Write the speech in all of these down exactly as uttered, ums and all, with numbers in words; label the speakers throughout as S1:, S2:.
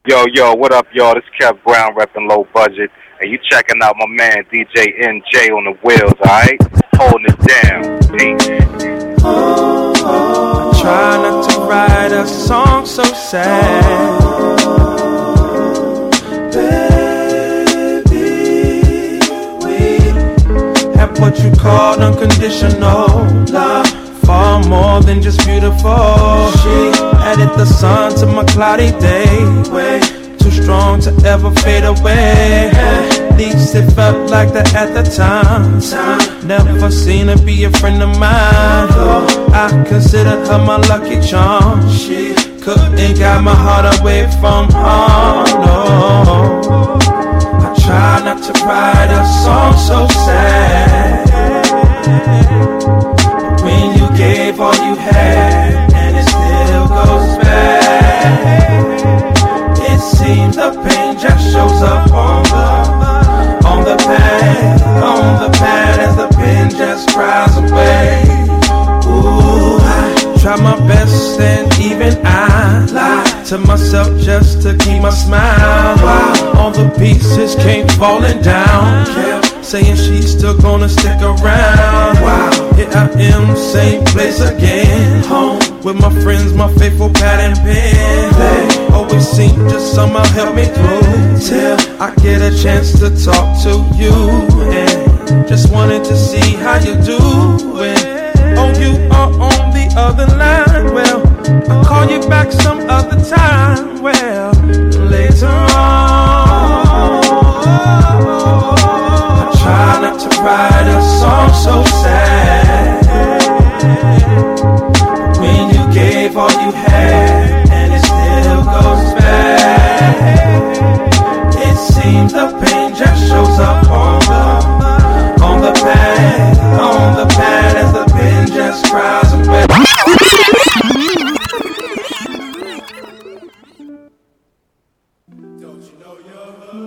S1: Yo, yo, what up, y'all? This is Kev Brown repping Low Budget, and you checking out my man D J N J on the wheels, alright? Holding it down. Peace.
S2: Oh, oh, I try not to write a song so sad. Baby, we have what you call unconditional love. Far more than just beautiful. She added the sun to my cloudy day. Way too strong to ever fade away. At least it felt like that at the time. Never seen her be a friend of mine. Though I considered her my lucky charm. She couldn't guide my heart away from home. No, I try not to write a song so sad. When you gave all you had, and it still goes back. It seems the pain just shows up on the, on the pad, on the pad as the pen just cries away. Ooh, I try my best and even I lie to myself just to keep my smile. While all the pieces came falling down, kept saying she's still gonna stick around. Wow, here I am, same place again. Home with my friends, my faithful pad and pen. They always seem to somehow help me through till I get a chance to talk to you. And just wanted to see how you doing. Oh, you are on the other line. Well, I'll call you back some other time. Well, later on. Try not to write a song so sad. When you gave all you had, and it still goes back. It seems the pain just shows up on the, on the pad, on the pad as the pen just cries away. Don't you know you're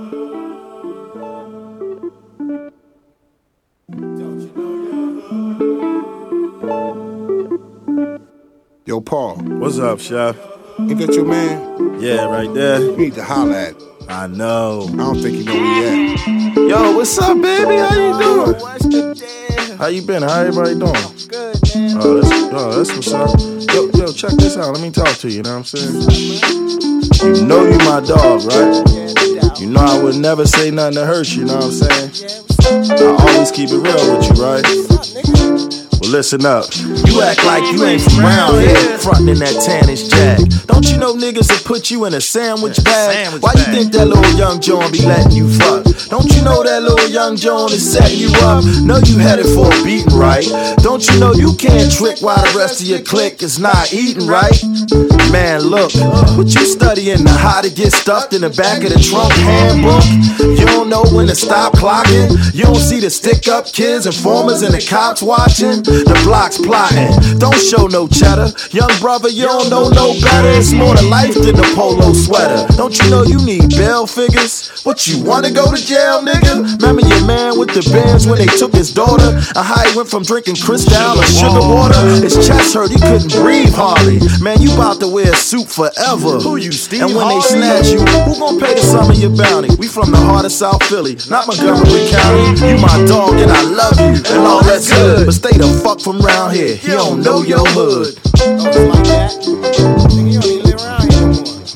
S3: Yo, Paul.
S4: What's up, Chef?
S3: Ain't that your man?
S4: Yeah, right there.
S3: You need to holler at him.
S4: I know.
S3: I don't think you know where he at.
S4: Yo, what's up, baby? How you doing? How you been? How everybody doing?
S5: Good, man.
S4: Oh, that's, oh, that's what's up. Yo, yo, check this out. Let me talk to you, you know what I'm saying? You know you my dog, right? You know I would never say nothing to hurt you, you know what I'm saying? I always keep it real with you, right? Well, listen up. You act like you ain't from around here, frontin' in that tannish jag. Don't you know niggas will put you in a sandwich bag? Why you think that little young John be letting you fuck? Don't you know that little young John is setting you up? Know you headed for a beating, right? Don't you know you can't trick while the rest of your clique is not eating, right? Man, look, what you studying the how to get stuffed in the back of the trunk handbook? You don't know when to stop clocking? You don't see the stick up kids, informers, and the cops watching? The block's plotting, don't show no cheddar. Young brother, you don't know no better. It's more to life than a polo sweater. Don't you know you need bail figures? What, you wanna go to jail, nigga? Remember your man with the bands when they took his daughter? And how he went from drinking Cristal or sugar water? His chest hurt, he couldn't breathe hardly. Man, you about to wear a suit forever. Who you, Steve? And when they snatch you, who gon' pay the sum of your bounty? We from the heart of South Philly, not Montgomery County. You my dog and I love you, and all that's good. But stay the fuck from round here, he don't know your hood.
S5: Oh, it's like that? Nigga, you don't even live around here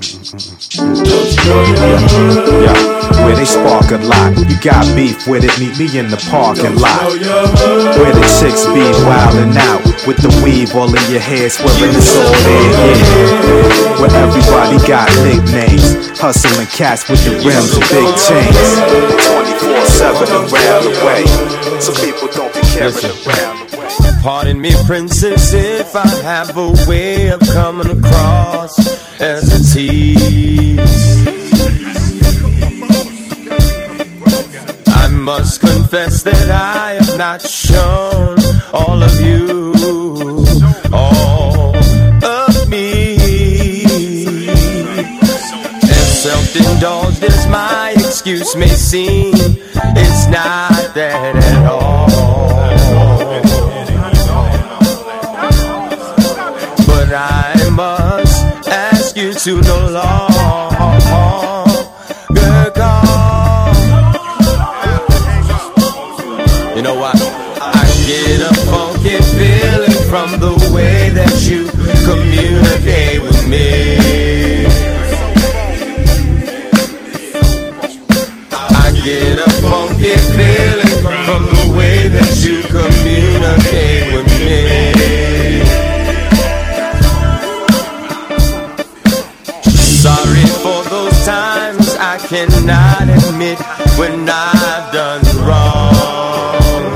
S5: no more.
S6: Yeah, where they spark a lot. You got beef with it, meet me in the parking lot. Where the chicks be wildin' out with the weave all in your hair, swearing it's all there, yeah. Where everybody got nicknames, hustling cats with the rims and big chains. twenty-four seven around the way, so people don't be carried around the way.
S2: Pardon me, princess, if I have a way of coming across as a tease. I must confess that I have not shown all of you, all of me. As self-indulged as my excuse may seem, it's not that at all. But I must ask you to no longer sorry for those times I cannot admit when I've done wrong.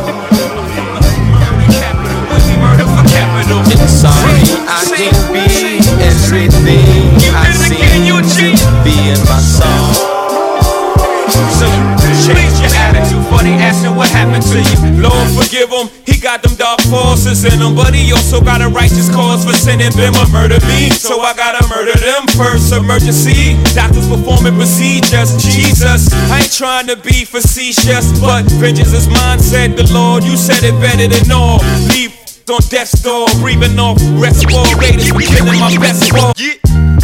S2: And sorry I can't be everything I seem to be in my song.
S7: So change your attitude for they asking what happened to you. Lord forgive him, he got them dark forces in him, but he also got a righteous cause for sending them a murder me. So I gotta murder them first. Emergency, doctors performing procedures. Jesus, I ain't trying to be facetious, but vengeance is mine, said the Lord. You said it better than all. Leave on death's door, breathing off respirators for killing my best ball. Yeah.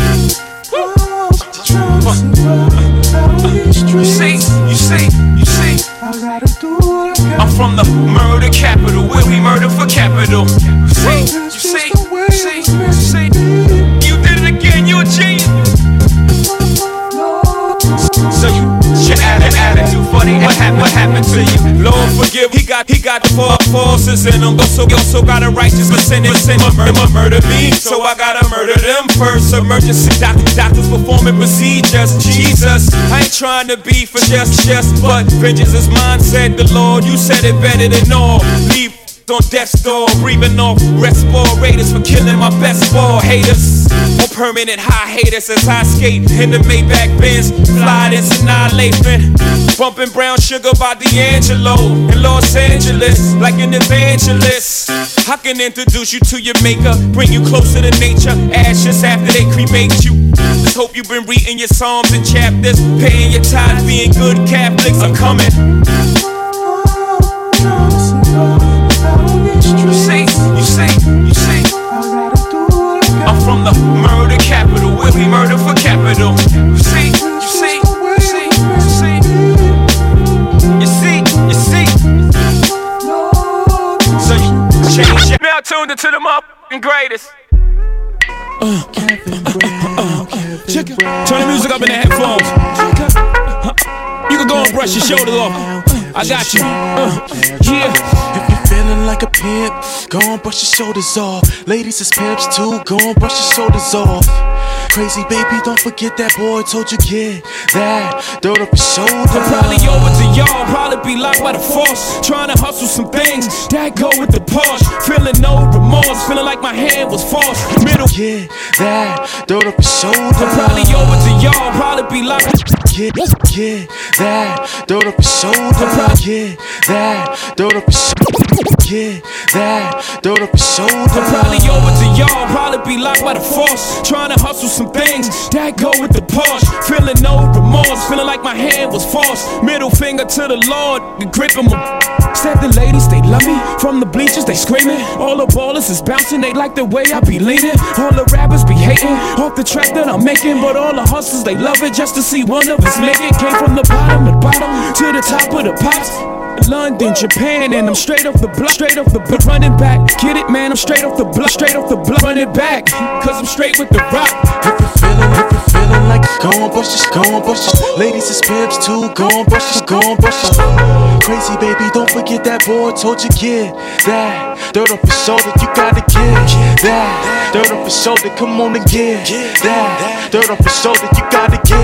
S7: You see, you see, you see, I'm from the murder capital, where we murder for capital. You see, you see, you see, you see, you did it again, you a genius. So you, your attitude funny, what happened, what happened to you? Lord forgive, he got, he got the four forces in him, but so, also got a righteous percentage, send him a murder me, so I gotta murder them first. Emergency, doctors, doctors performing procedures. Jesus, I ain't trying to be for just, just, but vengeance is mine, said the Lord. You said it better than all. Leave on death's door, breathing off respirators for killing my best ball. Haters on permanent high haters as I skate in the Maybach Benz, fly this annihilation, bumping Brown Sugar by D'Angelo in Los Angeles like an evangelist. I can introduce you to your maker, bring you closer to nature. Ashes after they cremate you. Just hope you've been reading your psalms and chapters, paying your tithes, being good Catholics. I'm coming. You see, you see, you see, I'm from the murder capital, where we murder for capital. You see, you see, you see, you see, you see, you see. So you change your now tuned into the motherfucking greatest. Uh, uh, uh, uh, check it. Turn the music up in the headphones. You can go and brush your shoulders off. I got you. Uh, yeah.
S8: Feeling like a pimp, go and brush your shoulders off. Ladies is pimps too, go and brush your shoulders off. Crazy baby, don't forget that boy told you get that dirt up your shoulder.
S7: I'm probably over to y'all, probably be locked by the force. Trying to hustle some things, that go with the Porsche. Feeling no remorse, feeling like my hand was forced. Middle,
S8: get that dirt up your shoulder.
S7: I'm probably over to y'all, probably be locked.
S8: Get, get that dirt up your shoulder. Get that dirt up your shoulder. Get that dirt up your shoulder.
S7: I'm probably over to y'all, probably be locked by the force. Trying to hustle some things, that go with the Porsche. Feeling no remorse, feeling like my hand was forced. Middle finger to the Lord, grip him. Said the ladies, they love me. From the bleachers, they screaming. All the ballers is bouncing, they like the way I be leaning. All the rappers be hating off the track that I'm making, but all the hustlers, they love it just to see one of us make it. Came from the bottom to bottom to the top of the pops. London, Japan, and I'm straight off the block, straight off the block, running back. Get it, man? I'm straight off the block, straight off the block, running back. Cause I'm straight with the rock.
S8: If you feeling, if you feeling like go on brush your, go on brush your. Ladies is pimps too, go on brush your, go on brush your. Crazy baby, don't forget that boy told you get that dirt off your shoulder. You gotta get that dirt off your shoulder. Come on and get that dirt off your shoulder. You gotta get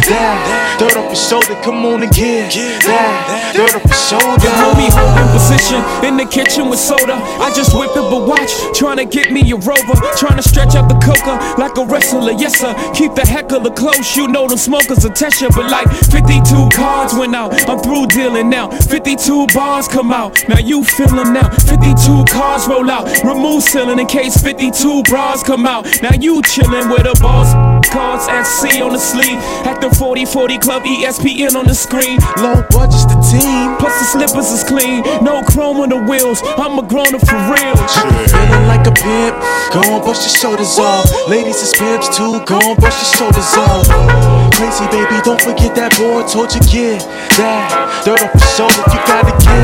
S8: that dirt off your shoulder. Come on and get that dirt off your shoulder.
S7: You hold me holding position in the kitchen with soda. I just whipped up a watch, trying to get me a rover. Trying to stretch out the coca like a wrestler, yes sir. Keep the heckler close, you know them smokers will test you. But like fifty-two cards went out, I'm through dealing now. fifty-two bars come out, now you feel them now. fifty-two cars roll out, remove ceiling in case fifty-two bras come out. Now you chillin' with a boss. Cards at C on the sleeve, at the forty forty club, E S P N on the screen.
S8: Low budget's the team,
S7: plus the slippers is clean, no chrome on the wheels. I'm a grown up for real.
S8: Feeling like a pimp, go on brush your shoulders off. Ladies is pimps too, go on brush your shoulders off. Crazy baby, don't forget that boy told you get that dirt off your shoulder. You gotta get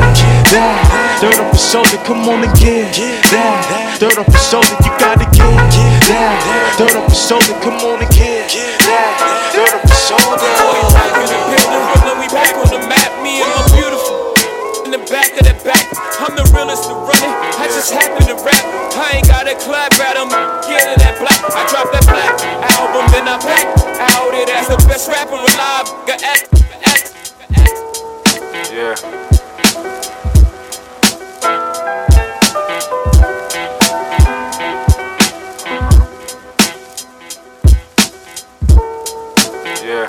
S8: that dirt off your shoulder. Come on and get that dirt off your shoulder. You gotta get that dirt off your shoulder. Come on and get that dirt off your shoulder.
S7: Boys back in the building, Brooklyn, we back on the map. Me and my beautiful in the back of the back. I'm the realest to run it. I just happen to rap. I ain't gotta clap at 'em. Get it that black. I drop that black album, then I back out He's the best rapper alive. Got act, act, act.
S1: Yeah. Yeah.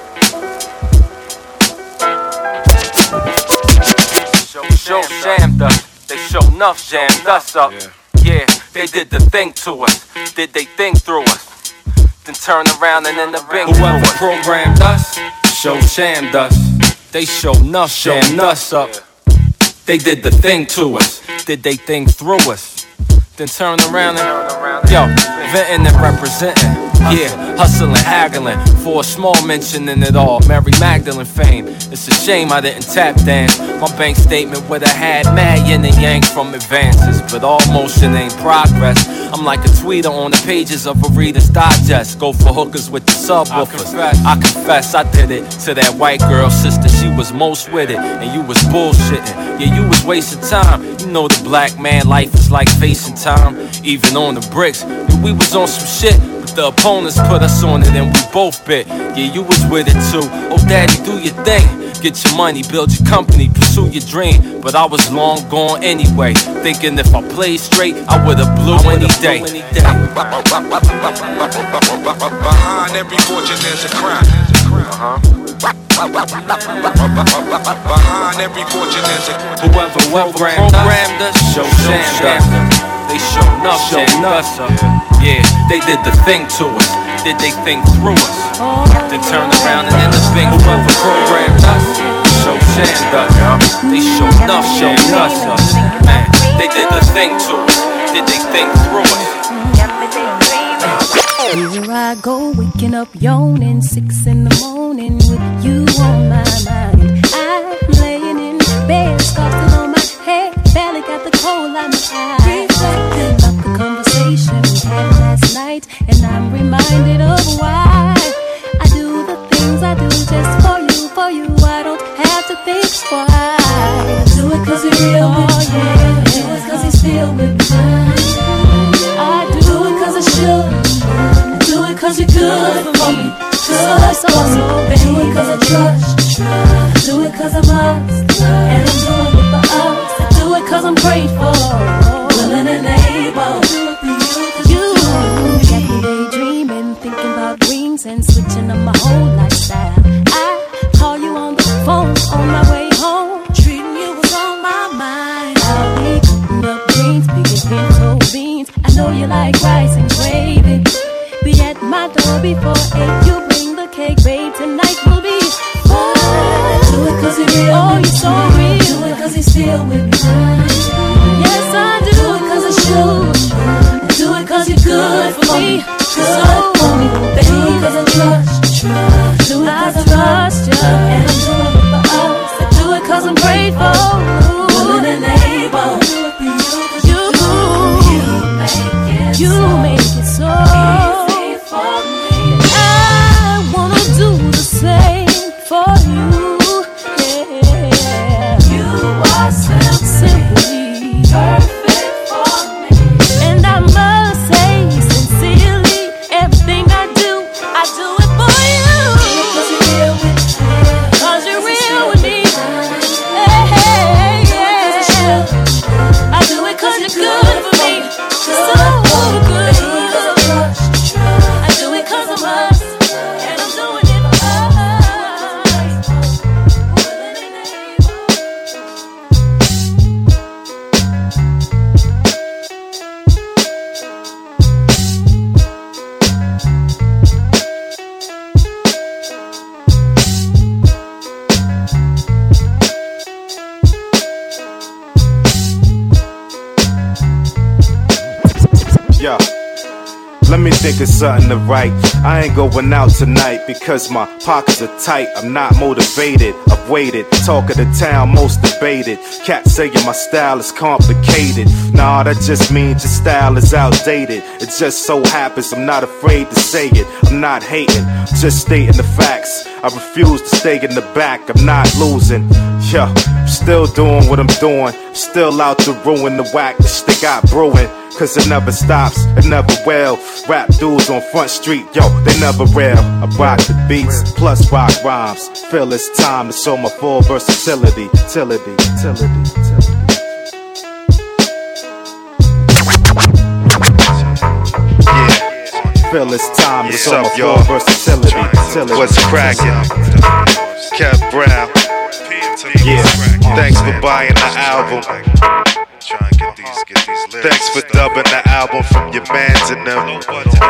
S9: Show jammed us, they show enough jammed us up. Yeah, they did the thing to us, did they think through us, then turn around and in the bing.
S2: Whoever programmed us, show shamed us. They show enough jammed us up. They did the thing to us, did they think through us, then turn around and yo, venting and representing. Yeah, hustling, haggling for a small mention in it all. Mary Magdalene fame. It's a shame I didn't tap dance. My bank statement would have had mad yin and yang from advances, but all motion ain't progress. I'm like a tweeter on the pages of a Reader's Digest. Go for hookers with the subwoofers. I confess, I confess I did it to that white girl sister. She was most with it, and you was bullshitting. Yeah, you was wasting time. You know the black man life is like facing time. Even on the bricks, we was on some shit. The opponents put us on it and we both bit. Yeah, you was with it too. Oh, daddy, do your thing. Get your money, build your company, pursue your dream. But I was long gone anyway. Thinking if I played straight, I would've blew any day.
S10: Behind every fortune there's a crime. Behind every fortune there's a crime.
S2: Whoever programmed us, show jammed us. They show enough, show us up. Yeah, they did the thing to us. Did they think through us? Then turn around and end up being whoever programmed us. Show shamed us. They show enough, show us up. Man, they did the thing to us. Did they think through us?
S11: Here I go, waking up yawning, six in the morning with you on my mind. I'm laying in bed, scarfing on my head, barely got the cold on my eye. Reflecting about the conversation we had last night, and I'm reminded of why I do the things I do just for you, for you. I don't have to think twice. I do it cause he's real with me. I do it cause he's still with me. I do it cause I should. I do it cause you're good for me. Good for me. I do it cause I trust. I do it cause I must. And I'm doing it for us. I do it cause I'm grateful, willing and able. You got me daydreaming, thinking about rings and switching up my whole lifestyle. I call you on the phone on my way home, treating you was on my mind. I'll be cooking up greens, picking pinto beans. I know you like rice and gravy. Be at my door before eight. You bring the cake, babe. Tonight will be fun. Do it cause he's real. Oh, you're so real. Do it cause he's still with me. Yes, I do. Do it cause I should. I do it cause you're good for me. Good for me. Do it cause I trust. Do it cause I trust you. And I'm doing it for us. I do it cause I'm grateful, willing and able. You, you make it so easy for me. I wanna do the same for you. Yeah. You are so simply perfect for me. And I must say sincerely, everything I do, I do it for you. Cause you're real with me. Cause you're real with me. Hey, hey, yeah. I do it cause you're good for me. So good. I do it cause I must. And I'm doing it for
S6: Yeah. Let me think of something to write. I ain't going out tonight because my pockets are tight. I'm not motivated, I've waited. Talk of the town, most debated. Cats saying my style is complicated. Nah, that just means your style is outdated. It just so happens I'm not afraid to say it. I'm not hating, just stating the facts. I refuse to stay in the back, I'm not losing. Yeah, Still doing what I'm doing, still out to ruin the whack that they got brewing. Cause it never stops, it never will. Rap dudes on Front Street, yo, they never real. I rock the beats, plus rock rhymes. Feel it's time to show my full versatility. Tility, tility, tility. Yeah, feel it's time to show my full versatility. Tility.
S12: What's crackin'? Kev Brown.
S6: Yeah,
S12: thanks for buying the album. Thanks for dubbing the album from your mans and them.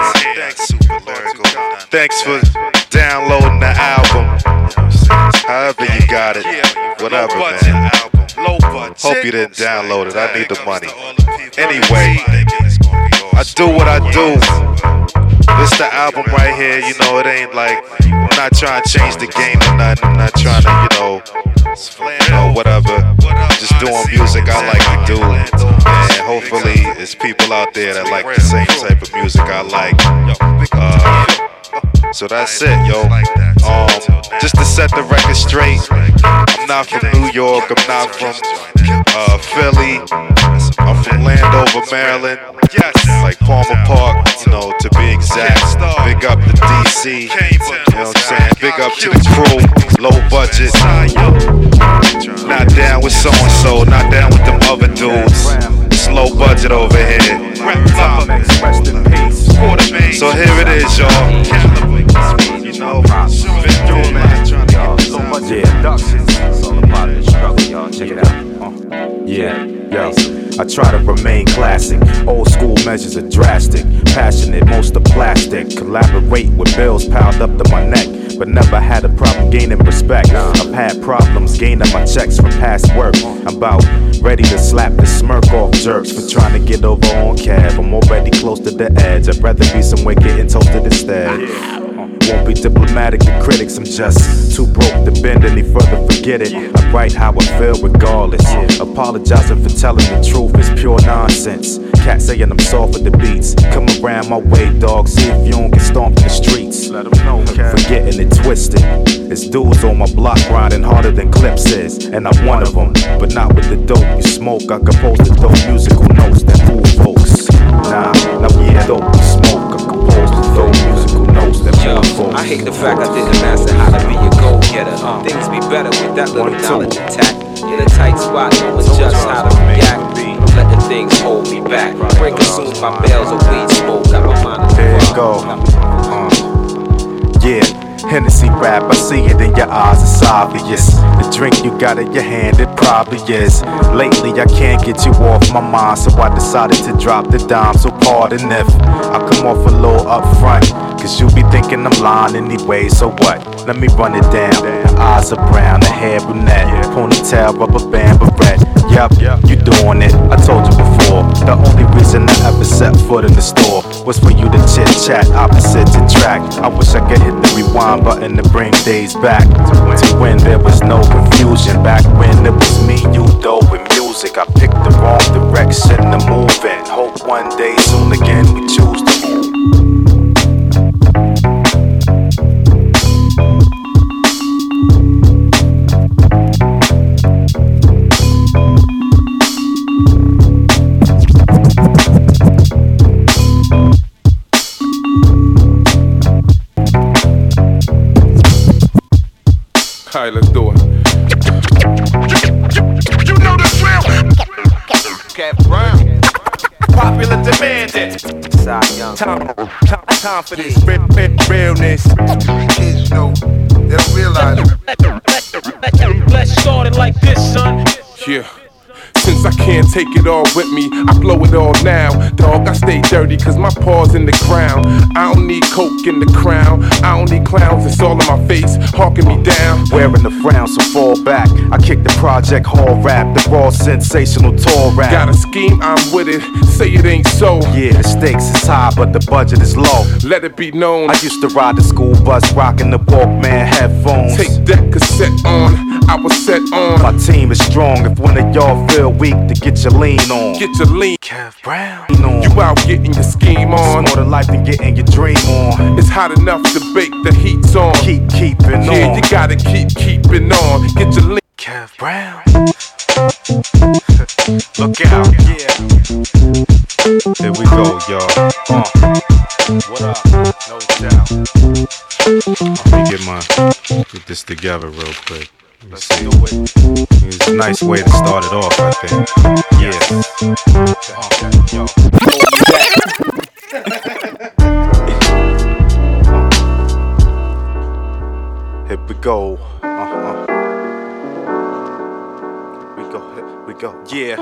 S12: Thanks for downloading the album. However you got it, whatever, man. Hope you didn't download it. I need the money. Anyway, I do what I do. This the album right here. You know, it ain't like I'm not trying to change the game or nothing. I'm not trying to, you know, you know, whatever. Just doing music I like to do. And hopefully it's people out there that like the same type of music I like. Uh, so that's it, yo. Um, just to set the record straight, I'm not from New York, I'm not from uh, Philly, I'm from Landover, Maryland. Like Palmer Park, you know, to be exact. Big up to D C, you know what I'm saying? Big up to the crew, low budget. Not down with so-and-so, not down with them other dudes. It's low budget over here. So here it is, y'all. You know,
S6: yeah, yo, I try to remain classic. Old school measures are drastic. Passionate, most are plastic. Collaborate with bills piled up to my neck, but never had a problem gaining respect. I've had problems gaining my checks from past work. I'm about ready to slap the smirk off jerks for trying to get over on cab. I'm already close to the edge. I'd rather be somewhere getting toasted instead. Won't be diplomatic to critics, I'm just too broke to bend any further, forget it. I write how I feel regardless. Apologizing for telling the truth is pure nonsense. Cats saying I'm soft with the beats. Come around my way, dog, see if you don't get stomped in the streets. Let them know, forgetting it twisted. It's dudes on my block grinding harder than Clips is, and I'm one of them, but not with the dope you smoke. I compose the dope musical notes that fool folks. Nah, now yeah, dope you smoke. I compose the dope musical notes that fool folks.
S13: I hate the fact I didn't master how to be a go-getter. Things be better with that little knowledge intact. In a tight spot, knowing just how to react. Letting things hold me back. Break consume my bales of weed smoke. Got my mind.
S6: There you go. Uh, yeah. Hennessy rap, I see it in your eyes, it's obvious. The drink you got in your hand, it probably is. Lately I can't get you off my mind, so I decided to drop the dime. So pardon if I come off a little upfront, cause you be thinking I'm lying anyway, so what? Let me run it down. The eyes are brown, the hair brunette, ponytail, rubber band, beret. Yup, you doing it, I told you before. The only reason I ever set foot in the store was for you to chit chat opposites attract. I wish I could hit the rewind button to bring days back to when there was no confusion. Back when it was me, you though, with music. I picked the wrong direction to move in. Hope one day soon again we choose to move.
S14: Alright, let's do it. You know the drill. Kev Brown. Popular demanded. Time, time, time for this real, real, realness. Kids, you know, they don't realize it.
S15: Let's start it like this, son.
S14: Yeah. Since I can't take it all with me, I blow it all now. Dog, I stay dirty cause my paws in the ground. I don't need coke in the crown. I don't need clowns, it's all in my face, hawking me down.
S6: Wearing the frown, so fall back. I kick the project hall rap, the raw sensational tour rap.
S14: Got a scheme, I'm with it, say it ain't so.
S6: Yeah, the stakes is high, but the budget is low.
S14: Let it be known,
S6: I used to ride the school bus, rocking the Walkman headphones.
S14: Take that cassette on, I was set on.
S6: My team is strong, if one of y'all feel weak, to get your lean on.
S14: Get your lean.
S6: Kev Brown.
S14: You out getting your scheme on.
S6: It's more to life than getting your dream on.
S14: It's hot enough to bake, the heat's on.
S6: Keep keeping
S14: yeah,
S6: on.
S14: Yeah, you gotta keep keeping on. Get your lean.
S6: Kev Brown. Look out, yeah. Here we go, y'all. Uh. What up? No doubt. Let me get my get this together real quick. Let's see. It's a nice way to start it off, I think. Yeah. Here we go. Uh-huh. We go. Here we go. Yeah.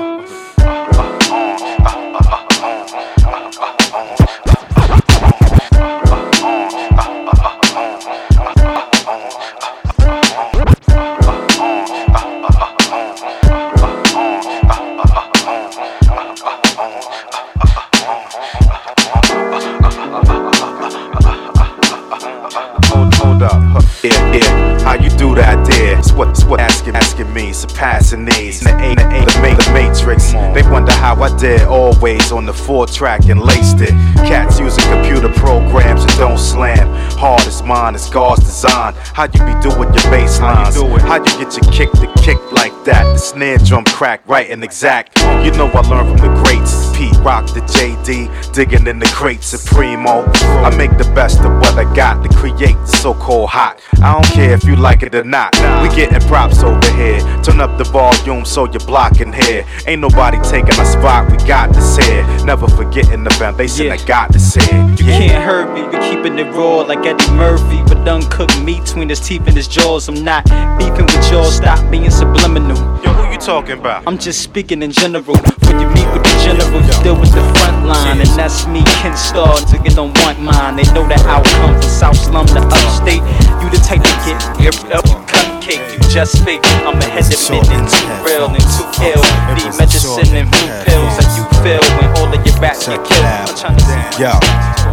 S6: Yeah, yeah, how you do that there? It's what, it's what asking, asking me, surpassing these. The ain't, the ain't, the, the matrix. They wonder how I did always on the four track and laced it. Cats using computer programs that don't slam. Hard as mine, it's God's design. How you be doing your bass lines? How you, how you get your kick to kick like that? The snare drum crack right and exact. You know I learned from the greats. Pete Rock, the J D, digging in the crates, Supremo. I make the best of what I got to create the so-called hot. I don't care if you like it or not. We getting props over here. Turn up the volume so you're blocking here. Ain't nobody taking a spot. We got this here. Never forgetting the foundation. Yeah. I got this here.
S16: You yeah. can't hurt me. We keeping it raw like Eddie Murphy, but uncooked meat between his teeth and his jaws. I'm not beefing with y'all. Stop being subliminal.
S6: Yo, who you talking about?
S16: I'm just speaking in general. When you meet with the general, you deal with the front line, and that's me, Ken Starr. Niggas don't want mine. They know the outcome from South Slum to Upstate. You the type to get ripped up, cupcake. You just fake. I'm ahead of midnight, too real and too ill. Need medicine and blue pills. Like you feel when all of your rats get killed. I'm trying to see.
S6: Yo.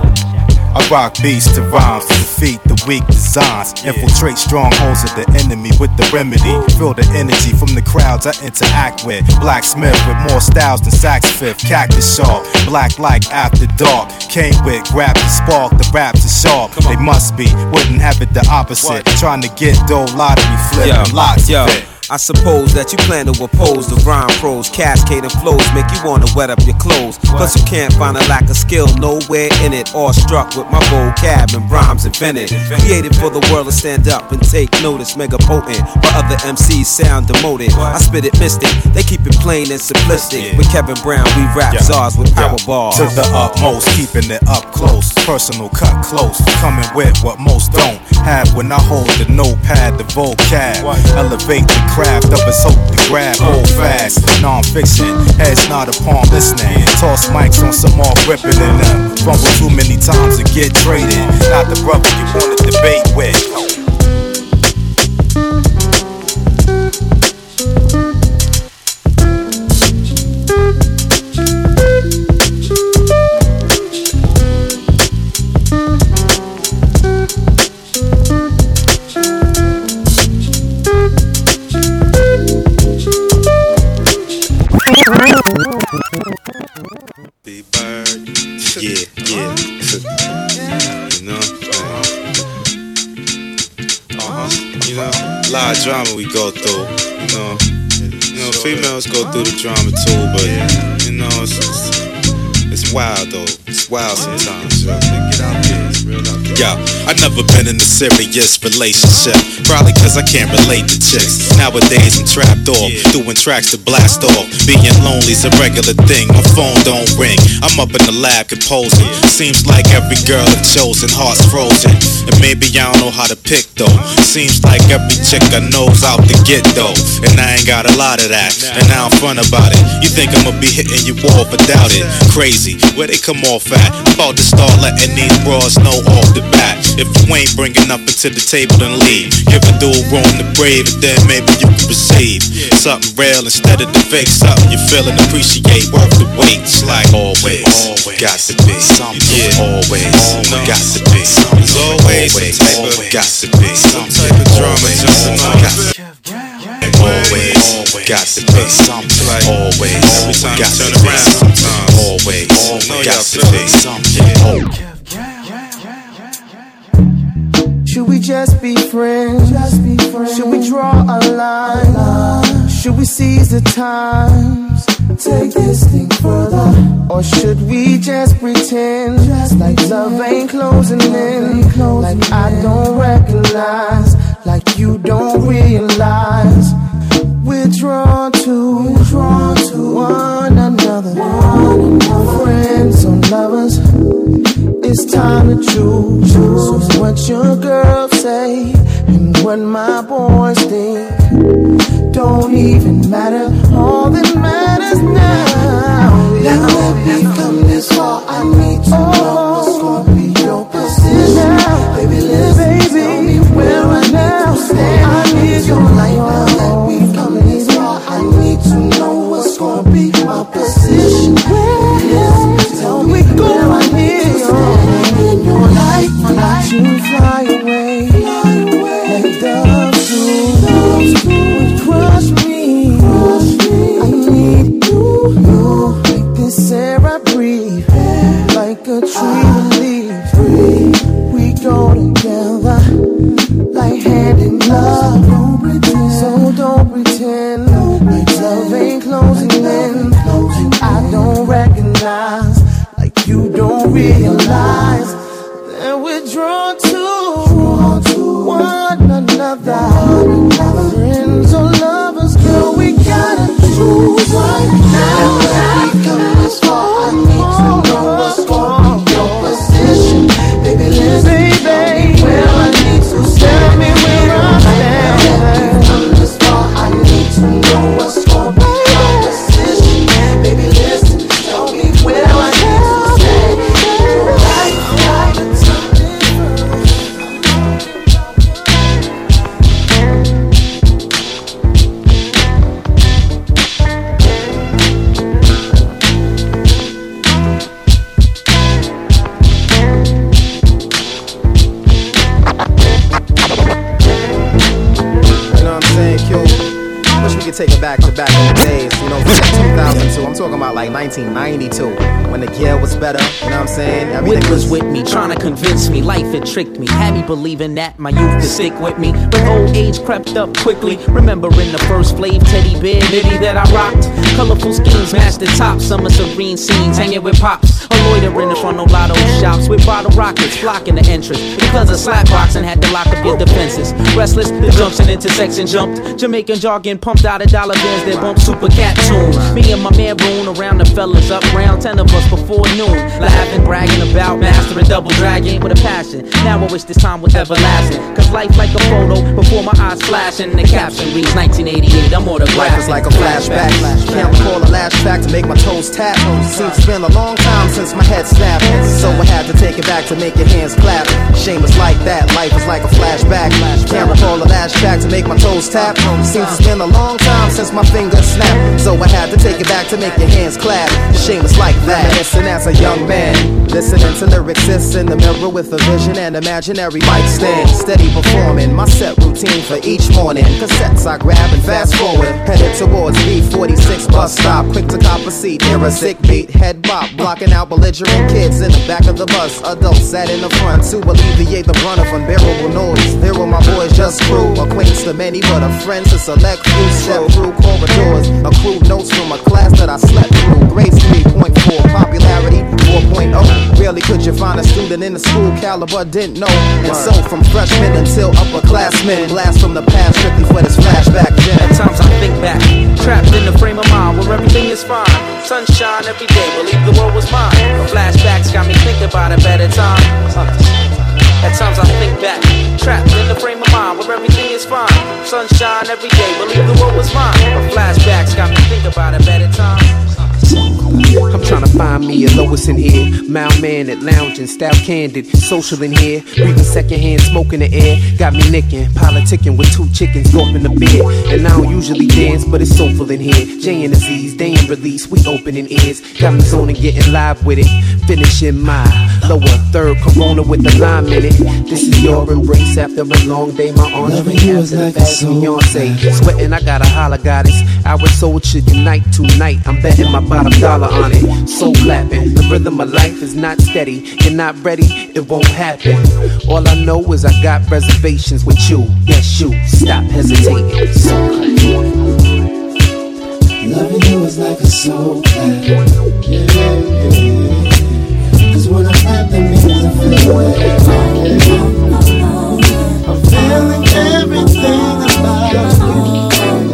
S6: I rock beats to rhymes to defeat the weak designs. Infiltrate strongholds of the enemy with the remedy. Feel the energy from the crowds I interact with. Blacksmith with more styles than Sax Fifth. Cactus Shaw, black like after dark. Came with, grabbed the spark, the raps are sharp. They must be, wouldn't have it the opposite. Trying to get dough lottery flip and lots of it.
S13: I suppose that you plan to oppose the rhyme pros, cascading flows, make you wanna wet up your clothes. Plus you can't find a lack of skill nowhere in it. All struck with my vocab and rhymes invented, created for the world to stand up and take notice. Mega potent, but other M Cs sound demoted. I spit it mystic, they keep it plain and simplistic. With Kevin Brown, we rap czars with power bars.
S6: To the utmost, keeping it up close, personal cut close, coming with what most don't have. When I hold the notepad, the vocab, elevate the craft of his hope to grab, hold fast. Non-fiction, heads not upon listening. Toss mics on some off ripping in them. Fumble too many times to get traded. Not the brother you wanna debate with.
S17: Drama we go through, you know. You know, females go through the drama too, but you know, it's it's, it's wild though. It's wild sometimes. Yo, get out there, it's real out there. Yo, I've never been in a serious relationship, probably cause I can't relate to chicks. Nowadays I'm trapped off, doing tracks to blast off. Being lonely's a regular thing, my phone don't ring. I'm up in the lab composing. Seems like every girl I've chosen, heart's frozen. And maybe I don't know how to pick though. Seems like every chick I know's out to get though. And I ain't got a lot of that, and now I'm fun about it. You think I'ma be hitting you off, but doubt it. Crazy, where they come off at? I'm about to start letting these bras know off the bat. If you ain't bringing nothing to the table, then leave. Give a dude room to breathe, and then maybe you can receive something real instead of the fake. Something you feel and appreciate, worth the wait. Like always, always got to be something. Yeah, always, always got to be something. There's always some type of, got to be some type of drama just enough. Always, got to be something. Like always, every time you turn around, sometimes. Always, got to be something.
S18: She should we just be friends? Just be friends. Should we draw a line? line? Should we seize the times? Take this thing further. Or should we just pretend just like love ain't closing in? Like I don't recognize, like you don't realize. We're drawn to, We're drawn to one another. One another. Friends or lovers, it's time to choose. So what your girl say and what my boys think don't even matter. All that matters now. Now that we've come this far, I need to know what's gonna be your position. Now, baby, listen, baby, tell me where I now stand. I need your life. Now that we've come this far, I need to know what's gonna be my position. Listen, tell me where I need to stand in your life. Let you fly away, fly away, like doves do. Crush me, crush me. I need you, you. Like this air I breathe, like a tree with leaves. We go together, like hand in glove. So don't pretend like love ain't closing in. Like I don't recognize, like you don't realize that we're drawn to one another. Friends or lovers, girl, we gotta choose right now. That we come this far, I need to know what's gonna be your position. Baby, listen, baby, where I need to tell me where I stand. That we come this far, I need to know what's gonna be your position. Baby, listen, tell me where I need to stand. Your life, life,
S19: take it back to back in the days, you know, two thousand two. I'm talking about like nineteen ninety-two, when the gear was better, you know what I'm saying? Everything
S20: Whip was with me, trying to convince me life had tricked me, had me believing that my youth could stick with me. But old age crept up quickly, remembering the first Flav teddy bear nitty that I rocked. Colorful schemes matched the top, summer serene scenes, hanging with pops, or loitering in front of lotto shops with bottle rockets blocking the entrance. Because of slapboxing, had to lock up your defenses. Restless, the junction intersection jumped, Jamaican jargon pumped out of dollar bills that bump super cat tunes. Me and my man Roon around the fellas up round, ten of us before noon, laughing, bragging about mastering double dragging with a passion. Now I wish this time was everlasting, cause life like a photo before my eyes flashing. The caption reads nineteen eighty-eight, I'm autographing.
S19: Life is like a flashback, can't recall a last track to make my toes tap. Seems it's been a long time since my head snapped, so I had to take it back to make your hands clap. Shame is like that, life is like a flashback. Can't recall a last track to make my toes tap. Seems it's been a long time since my fingers snapped, so I had to take it back to make your hands clap. Shame is like that. Reminiscing as a young man, listening to lyrics sis in the mirror with a vision and imaginary mic stand. Steady performing my set routine for each morning. Cassettes I grab and fast forward, headed towards B forty-six bus stop. Quick to cop a seat, hear a sick beat, head bop, blocking out belligerent kids in the back of the bus. Adults sat in the front to alleviate the brunt of unbearable noise. There were my boys, just crew, acquaintance to many, but a friend to select few. Step through corridors, accrued notes from a class that I slept through. Grades three point four, popularity four point oh. Rarely could you find a student in the school caliber didn't know. And so from freshmen until upperclassmen, blast from the past strictly for this flashback gen.
S20: At times I think back, trapped in the frame of mind where everything is fine. Sunshine every day, believe the world was mine. But flashbacks got me thinking about a better time. At times I think back, trapped in the frame of mind where everything is fine. Sunshine every day, believe the world was mine. But flashbacks got me thinking about a better time.
S21: I'm trying to find me a Lois in here. Mild man at lounging, style candid, social in here. Breathing secondhand smoke in the air. Got me nicking, politicking with two chickens, gulping the beer. And I don't usually dance, but it's soulful in here. Jay and Aziz, they in release, we opening ears. Got me zoning, getting live with it. Finishing my lower third Corona with the lime in it. This is your embrace after a long day. My arms ring after the fast Beyonce. Sweating, I got a holler goddess. Our soul should unite tonight. I'm betting my bottom dollar on it. Soul clapping, the rhythm of life is not steady. You're not ready, it won't happen. All I know is I got reservations with you. Yes, you. Stop hesitating. Soul clap.
S18: Loving you is like a soul clap. Yeah, yeah. Cause when I clap, that means I feel it. Yeah. I'm feeling everything about you.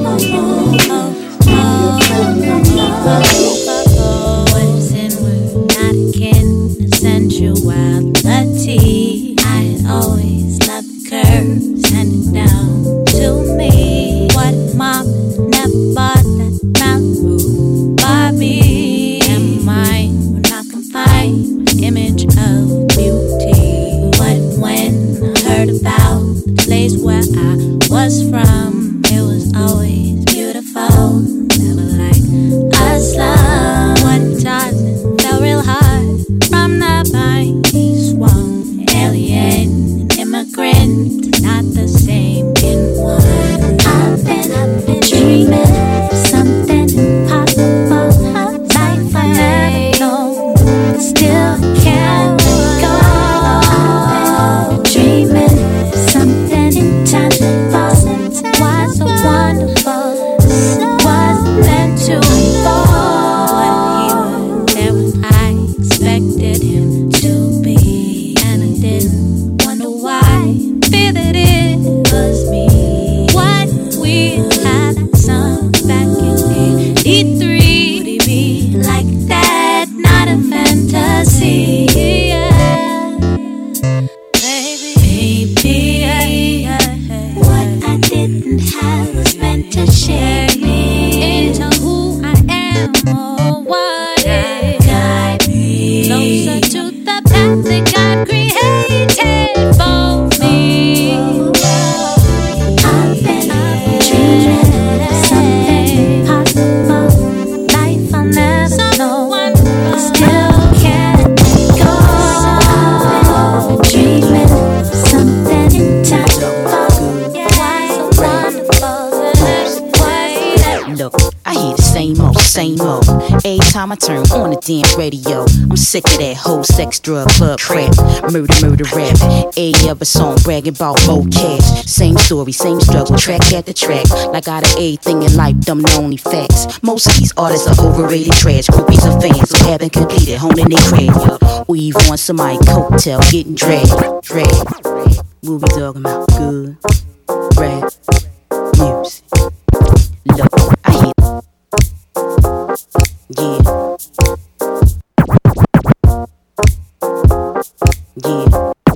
S11: Sensuality, I had always loved the curves handing down to me. What mom never bought that Malibu Barbie. And mine would not confine image of beauty. But when I heard about the place where I was from, it was always beautiful, never like a slum. What Tarzan felt real hard from the vine he swung. Alien and immigrant, not the same in one. I've been, I've been dreaming something impossible. Life I never known, still can't let go. Dreaming something intangible. Why so wonderful? Was meant to unfold. What he was, there was I expected him to be, and I didn't wonder why. Feel that it was me. What we had that song back in eighty-three. Would he be like that? Not a fantasy. Yeah. Baby, baby, yeah. What I didn't have was meant to share me into who I am or what it guide me closer to the path that God created for me. I've been, I've been dreaming something possible. Life I'll never know, still can't go. Dreaming something intangible. Why so wonderful? Why?
S20: Look, I hear the same old, same old. Every time I turn on the damn radio, I'm sick of that whole sex, drug, club crap. Murder, murder, rap. Every other song bragging about more cash. Same story, same struggle, track after track. Like out of everything in life, them the only facts. Most of these artists are overrated trash. Groupies of fans who haven't completed, honing their craft. Weave on somebody coattail, getting dragged, dragged. What we talking about? Good rap music. Look, I hear. Yeah. Yeah.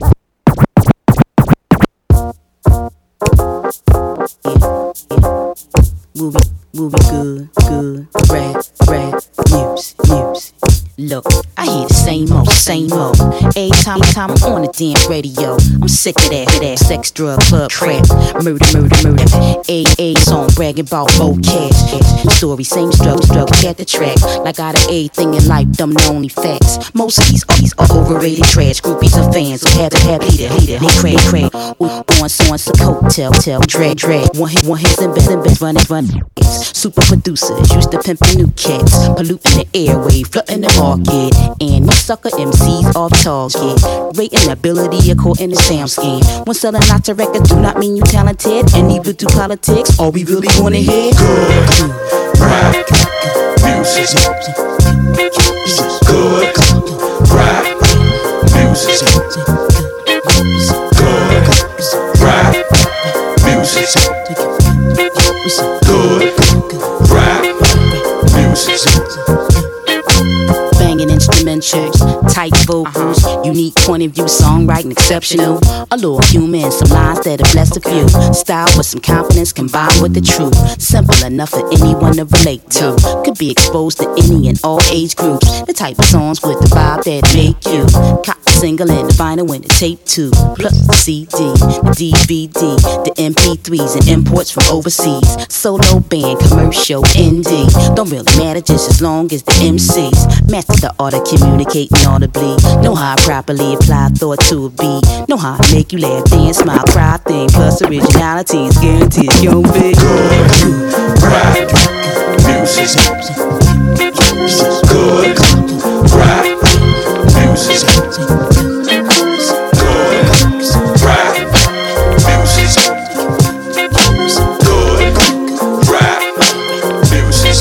S20: Yeah. Yeah. Movie, movie, good, good. Rap, rap, music, music. Look, I hear the same old, same old. Every time, time I'm on the damn radio, I'm sick of that, that sex, drug, club crap. Murder, murder, murder. A A song bragging about more cash. Story, same struggle, struggle, get the track. Like out of everything in life, them the only facts. Most of these, all these are overrated trash. Groupies of fans who have to have leader, leader. They crack, crack. On, so on, so coattail, tail, drag, drag. One hit, one hit, and best, and best, running, running. Super producers used to pimp new cats, polluting the airwave, flooding the market, and these sucker M Cs off target, rating ability according to sound scheme. When selling lots of records do not mean you talented, and even do politics, all we really wanna hear good rap music, good rap music, good rap music. Good rap music. Banging instrumentals, tight vocals, uh-huh. Unique point of view, songwriting exceptional. A little human, some lines that have blessed a few. Style with some confidence combined with the truth. Simple enough for anyone to relate to. Could be exposed to any and all age groups. The type of songs with the vibe that make you cop the single and the vinyl and the tape too. Plus the C D, the D V D, the M P threes and imports from overseas. Solo band, commercial, indie. Don't really matter just as long as the M Cs master the art of communicating audibly. Know how I properly apply thought to a beat. Know how I make you laugh, dance, smile, cry, think. Plus originality is guaranteed. Yo, big good rap music.
S2: music. Good rap music. Good rap music. Good rap music.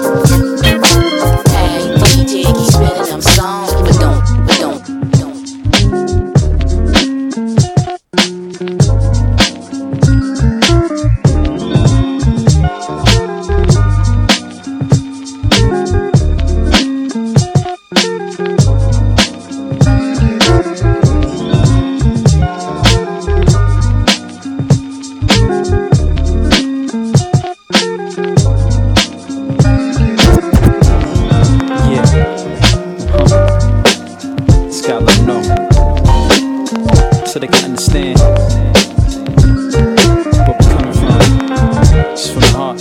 S11: Hey, D J, keep spinning them songs, but don't, but don't, don't.
S16: So they can understand where we're coming from. Just from the heart.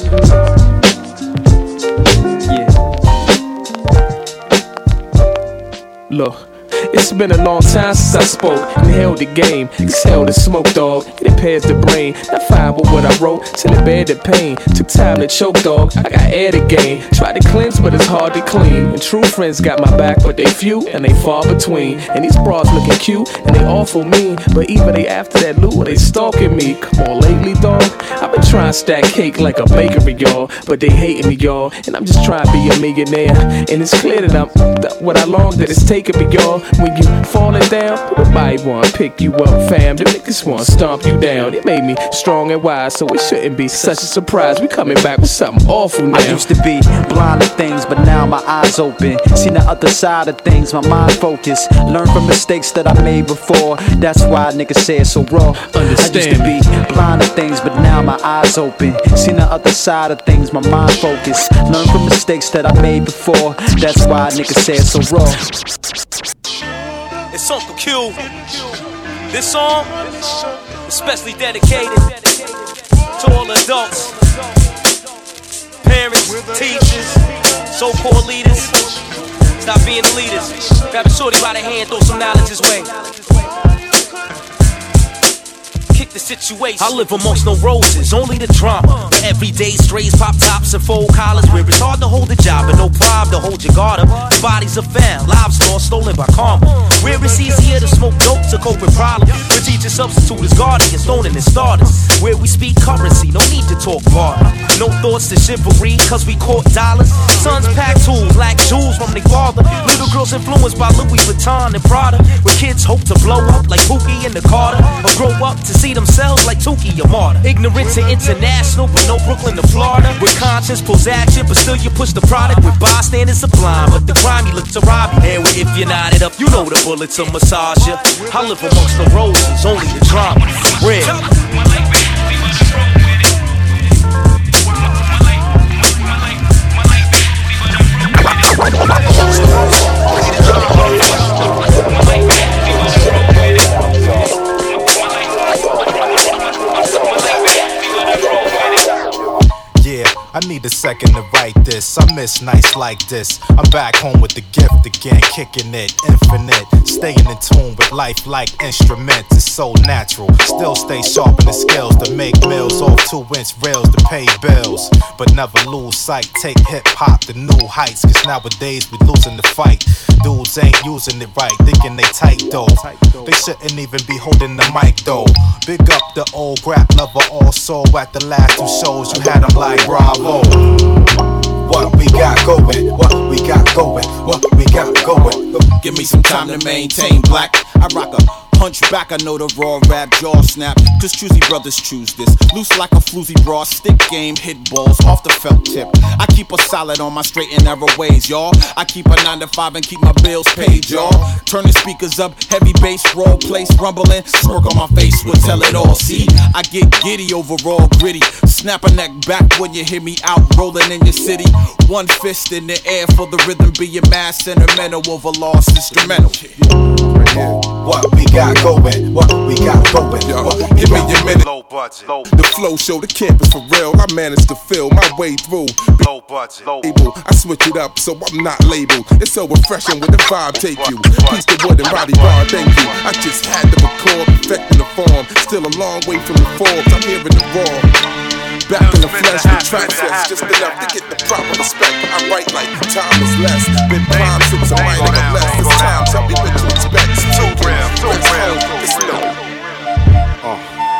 S16: Yeah.
S8: Look, it's been a long time since I spoke. Inhaled the game, exhaled the smoke, dog. It impairs the brain. Not fine with what I wrote, till it bear the pain. Took time to choke, dog. I got air to gain. Tried to cleanse, but it's hard to clean. And true friends got my back, but they few and they far between. And these bras looking cute and they awful mean. But even they after that loot, they stalking me. Come on, lately, dog. I've been trying to stack cake like a bakery, y'all. But they hating me, y'all. And I'm just trying to be a millionaire. And it's clear that I'm th- what I long that it's taking me, y'all. When you falling down, nobody wanna pick you up, fam. The niggas wanna stomp you down. It made me strong and wise, so it shouldn't be such a surprise. We coming back with something awful now.
S20: I used to be blind to things, but now my eyes open. Seen the other side of things, my mind focused. Learn from mistakes that I made before. That's why niggas say it's so raw.
S8: Understand.
S20: I used to be blind to things, but now my eyes open. Seen the other side of things, my mind focused. Learn from mistakes that I made before. That's why niggas say it's so raw.
S15: It's Uncle Q. This song, especially dedicated to all adults, parents, teachers, so-called leaders. Stop being the leaders. Grab a shorty by the hand, throw some knowledge his way. Kick the situation. I live amongst no roses, only the drama. Where everyday strays, pop tops, and fold collars. Where it's hard to hold a job and no pride to hold your guard up. The bodies are found, lives lost, stolen by karma. Where it's easier to smoke dope to cope with problems. Where teachers substitute as guardians, stoning as starters. Where we speak currency, no need to talk barter. No thoughts to chivalry, cause we caught dollars. Sons pack tools, lack jewels from their father. Little girls influenced by Louis Vuitton and Prada. Where kids hope to blow up like Pookie and the Carter. Or grow up to see themselves like Tukey or Marta. Ignorant to international, but no Brooklyn to Florida. Where conscience pulls action, but still you push the product. With bystanders sublime, but the grimy look to rob you. And if you're knotted up, you know the bullets will massage you. I live amongst the roses, only the drama. Real.
S6: Yeah, I need a second to write this. I miss nights like this. I'm back home with the gift again, kicking it infinite. Staying in tune with life like instruments. It's so natural. Still stay sharp in the skills to make meals off two inch rails to pay bills. But never lose sight. Take hip hop to new heights. Cause nowadays we losing the fight. Dudes ain't using it right, thinking they tight though. They shouldn't even be holding the mic though. Big up the old rap lover also. At the last two shows you had them like bravo. What we got going, what we got going, what we got going.
S3: Give me some time to maintain black. I rock a hunchback, I know the raw rap jaw snap. Cause choosy brothers choose this. Loose like a floozy bra, stick game, hit balls off the felt tip. I keep a solid on my straight and narrow ways, y'all. I keep a nine to five and keep my bills paid, y'all. Turning speakers up, heavy bass, roll place rumbling. Smirk on my face will tell it all. See, I get giddy overall gritty. Snap a neck back when you hear me out rolling in your city. One fist in the air for the rhythm being mad sentimental over lost instrumental.
S6: What we got going, what we got going. What we
S14: Give me
S6: got
S14: your minute. Low budget. Low. The flow show, the campus for real. I managed to feel my way through. Low budget. Low. I switch it up so I'm not labeled. It's so refreshing when the vibe take you. Piece the wood and body bar, thank you. I just had to record, perfecting the form. Still a long way from the Forbes. I'm hearing the raw. back in the flesh with track sets, just enough to get the proper respect. I write like time is less. Been prime since a minor or less. It's time, tell me what to expect. It's two grams, two grams, it's no.
S3: Uh,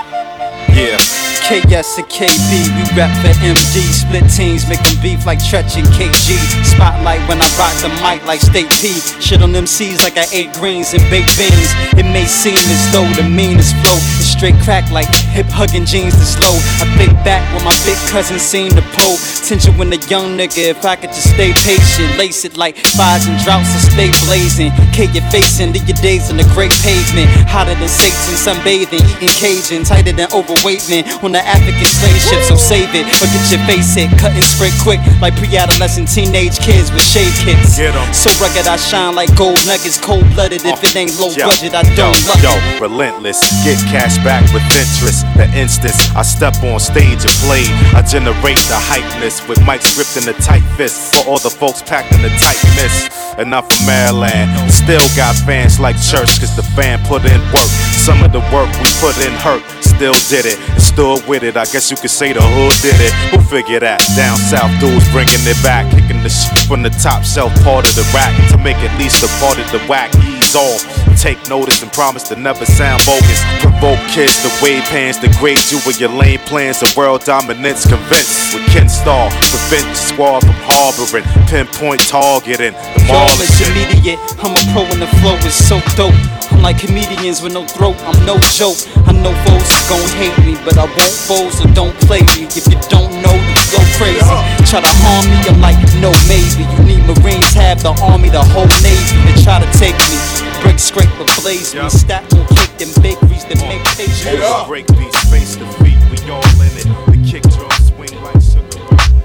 S3: yeah.
S16: K S and K B, we rap for M D. Split teams, making beef like Tretch and K G. Spotlight when I rock the mic like State P. Shit on M Cs like I ate greens and baked beans. It may seem as though the meanest flow is straight crack like hip hugging jeans to slow. I think back when my big cousin seen the pole. Tension when a young nigga, if I could just stay patient. Lace it like fires and droughts and stay blazing. K your face and live your days on the great pavement. Hotter than Satan, sunbathing, eating Cajun. Tighter than overweight men on the African slave ship, so save it or get your face hit. Cutting straight quick like pre-adolescent teenage kids with shade kits. So rugged I shine like gold nuggets. Cold-blooded if it ain't low
S6: Yo,
S16: budget I don't
S6: yo,
S16: love
S6: yo,
S16: it.
S6: relentless, get cash back with interest. The instance I step on stage and play, I generate the hypeness with mics gripped in the tight fist. For all the folks packed in the tightness. And I'm from Maryland, still got fans like church, cause the fan put in work. Some of the work we put in hurt, still did it, and stood with it. I guess you could say the hood did it. Who figured that? Down south dudes bringing it back, kicking the shit from the top shelf part of the rack to make at least a part of the whack ease off. Take notice and promise to never sound bogus. Provoke kids to wave hands, degrade you with your lame plans of world dominance. Convinced with Ken Starr, prevent the squad from harboring, pinpoint targeting the
S16: Y'all
S6: marvelous
S16: is
S6: shit.
S16: immediate, I'm a pro and the flow is so dope. I'm like comedians with no throat, I'm no joke. I know foes is gon' hate me, but I won't fold, so don't play me. If you don't know, you go crazy. Try to harm me, I'm like, no maybe. You need Marines, have the army, the whole navy to try to take me. Break, scrape, or blaze me. Stack will kick them bakeries that make patience.
S6: Break beats, face the feet, we all in it. The kick drum swing like sugar.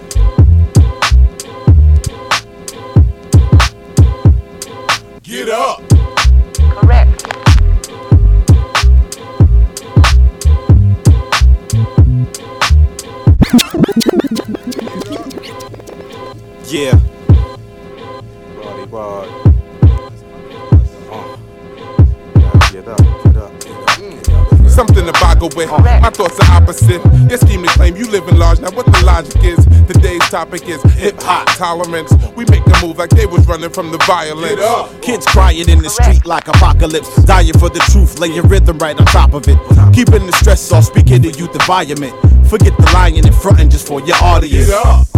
S14: Get up.
S4: Correct.
S3: Yeah.
S6: Roddy Rod. Uh. Get up, get up, get up, get up.
S14: Something to boggle with. My thoughts are opposite. Your scheme to claim you live in large. Now what the logic is? Today's topic is hip hop tolerance. We make a move like they was running from the violence.
S5: Kids crying in the street like apocalypse. Dying for the truth, lay your rhythm right on top of it. Keeping the stress off, speaking the youth environment. Forget the lying in front and just for your audience.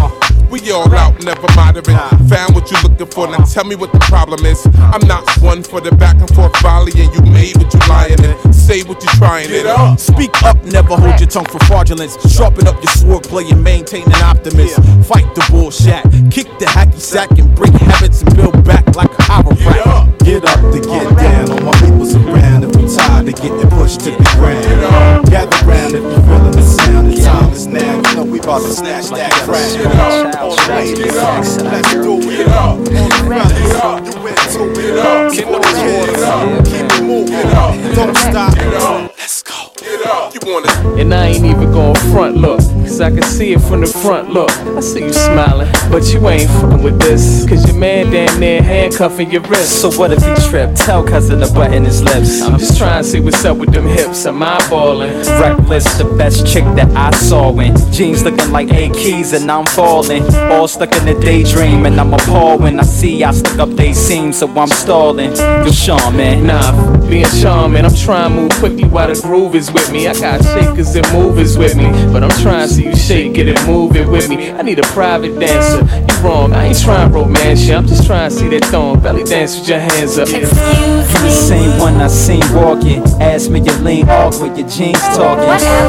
S14: We all out, never moderate. Found what you're looking for, now tell me what the problem is. I'm not one for the back and forth volley, and you made what you lying in. Say what you're trying in.
S5: Speak up, never hold your tongue for fraudulence. Sharpen up your sword, play and maintain an optimist. Fight the bullshit, kick the hacky sack and break habits and build back like a chiropractor.
S6: Get up to get down, all my people's around. If you tired of getting pushed to the ground, gather round if you feeling the sound. The time is now, you know we about to snatch that crown. All the ladies, let's do it. All the brothers, you into it. Keep it up, keep it moving. Don't stop. Let's go.
S14: You want it?
S22: And I ain't even gon' front look, cause I can see it from the front look. I see you smiling, but you ain't fucking with this, cause your man damn near handcuffing your wrist.
S16: So what if he tripped? Tell cousin to button his lips.
S22: I'm just trying to see what's up with them hips. I'm eyeballing.
S16: Reckless, the best chick that I saw in jeans looking like A keys and I'm falling. All stuck in a daydream and I'm appalled when I see I stuck up they seam, so I'm stalling. You're charming.
S22: Nah, being charming, I'm trying to move quickly while the groove is with me. I got shakers and movers with me, but I'm trying to see you shake it and move it with me. I need a private dancer. You wrong, I ain't trying to romance you. I'm just trying to see that thong belly dance with your hands up.
S16: You the same one I seen walking. Ask me you lean awkward, your jeans talking.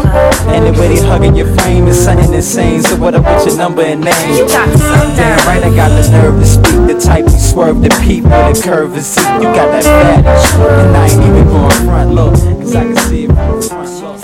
S16: Anyway, they hugging your frame is something insane. So what up with your number and name?
S4: You got something.
S16: Damn right, I got the nerve to speak. The type you swerve the peep with a curve and seat. You got that fat, and I ain't even going front look, cause I can see it from the front look.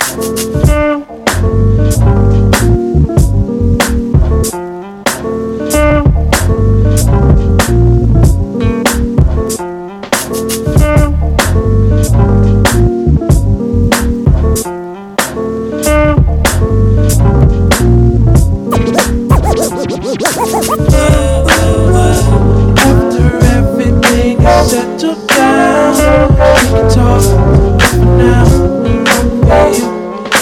S2: After everything is settled down, we can talk for now.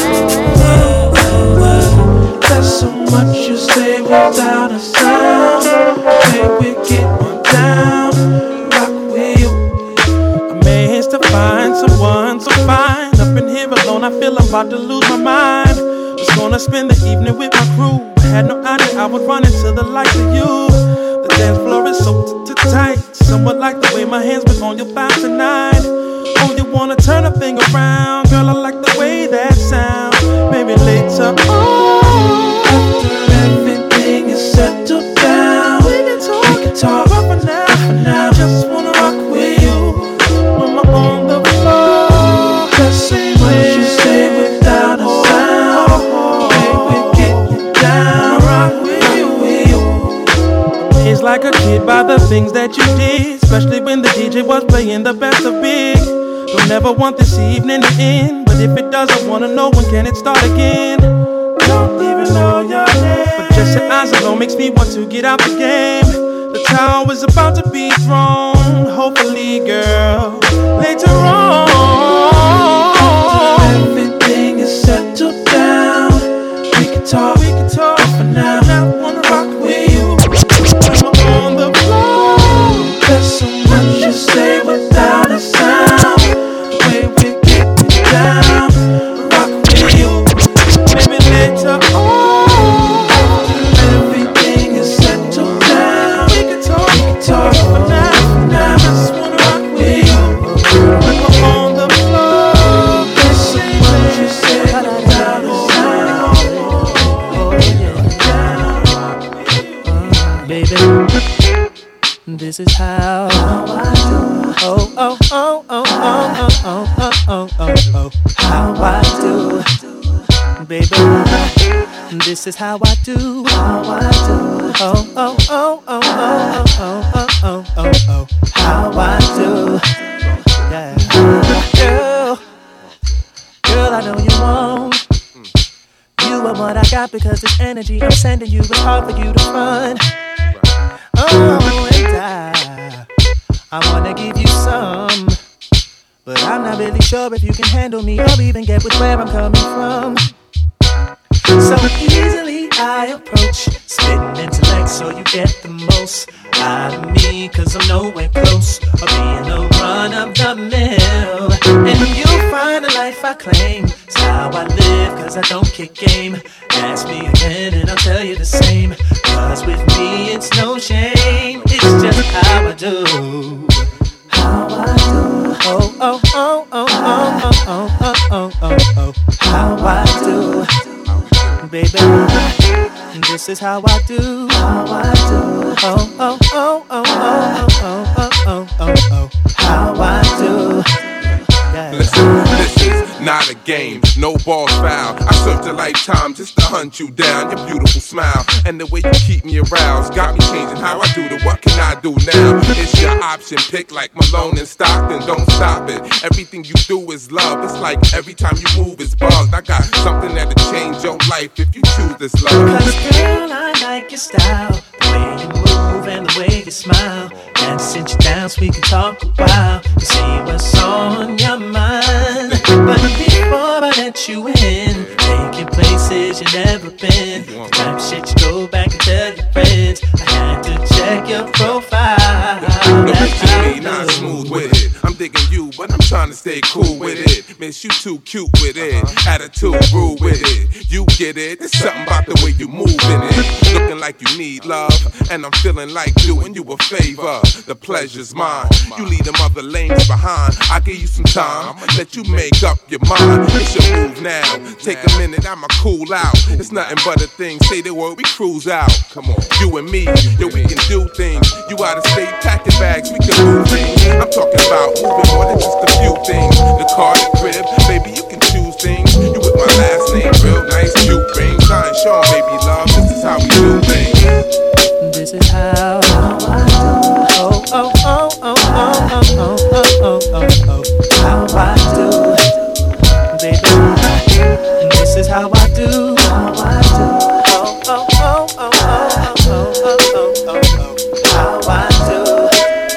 S2: wanna spend the evening with my crew. I had no idea I would run into the likes of you. The dance floor is so t- t- tight. Somewhat like the way my hands was on your thighs tonight. Oh, you wanna turn a thing around? Girl, I like the way that sounds. Maybe later on, after everything is settled down, we can talk. We can talk. But for now, for now, I just wanna rock with you when we're on the floor. Just say when you stay without a sound. Baby, get it down, rock with you, with you. It's like a kid by the things that you did, especially when the D J was playing the best of big. Don't never want this evening to end, but if it does, I wanna know when can it start again. Don't even know your name, but just your eyes alone makes me want to get out the game. The towel is about to be thrown, hopefully, girl, later on. Everything is settled down. We can talk, we can talk. For now, I wanna rock with you. When we're on the floor, there's so much to say without a sound. Down, rock with you, maybe later on. Everything is settled down. We can talk, we can talk. For now, for now, I just wanna rock with you. When we're on the floor, there's so much you say without a sound.
S1: uh, Baby, this is how I do. Oh, oh, oh, oh, oh, oh, oh, oh, oh, oh, how I do, baby. This is how I do. How I do. Oh, oh, oh, oh, oh, oh, oh, oh, oh, oh, how I do. Yeah, girl, girl, I know you won't. You are what I got because this energy I'm sending you. It's hard for you to run. Oh, and I. I wanna give you some, but I'm not really sure if you can handle me or even get with where I'm coming from. So easily I approach, spitting intellect so you get the most out of me, cause I'm nowhere close or being a run of the mill. And you'll find the life I claim, it's how I live cause I don't kick game. Ask me again and I'll tell you the same, cause with me it's no shame. It's just how I do. How I do. Oh, oh, oh, oh, oh, oh, oh, oh, oh, oh, how I do. Baby, this is how I do. How I do. Oh, oh, oh, oh, oh, oh, oh, oh, oh, oh, how I do. Yeah.
S14: Listen, this is not a game, no ball foul. I served a lifetime just to hunt you down. Your beautiful smile and the way you keep me aroused got me changing how I do the what can I do now? It's your option, pick like Malone and Stockton. Don't stop it. Everything you do is love. It's like every time you move is bugged. I got something that'll change your life if you choose this love.
S1: Cause girl, I like your style, the way you move and the way you smile. And sit you down so we can talk a while to see what's on your mind. But before I let you in, take you places you've never been, the type of shit you go back and tell your friends. I had to check your profile.
S14: Look at me, not smooth with it. I'm digging you, but I'm trying to stay cool with it. Miss, you too cute with it. Attitude rude with it. You get it. There's something about the way you move in it. Looking like you need love, and I'm feeling like doing you a favor. The pleasure's mine. You leave them other lanes behind. I give you some time, let you make up your mind. It's your move now. Take a minute, I'ma cool out. It's nothing but a thing. Say the word, we cruise out. Come on, you and me, yo, we can do things. You out of state, packing bags, we can move things. I'm talking about moving more than just a few things. The car, the crib, baby, you can choose things. You with my last name, real nice, cute rings. I ain't Sean, baby, love. This is how we do things.
S1: This is how I do. Oh, oh, oh, oh, oh, oh, oh, oh, oh, oh, how I do, baby. This is how I do. How I do. Oh, oh, oh, oh, oh, oh, oh, oh, oh, oh, how I do.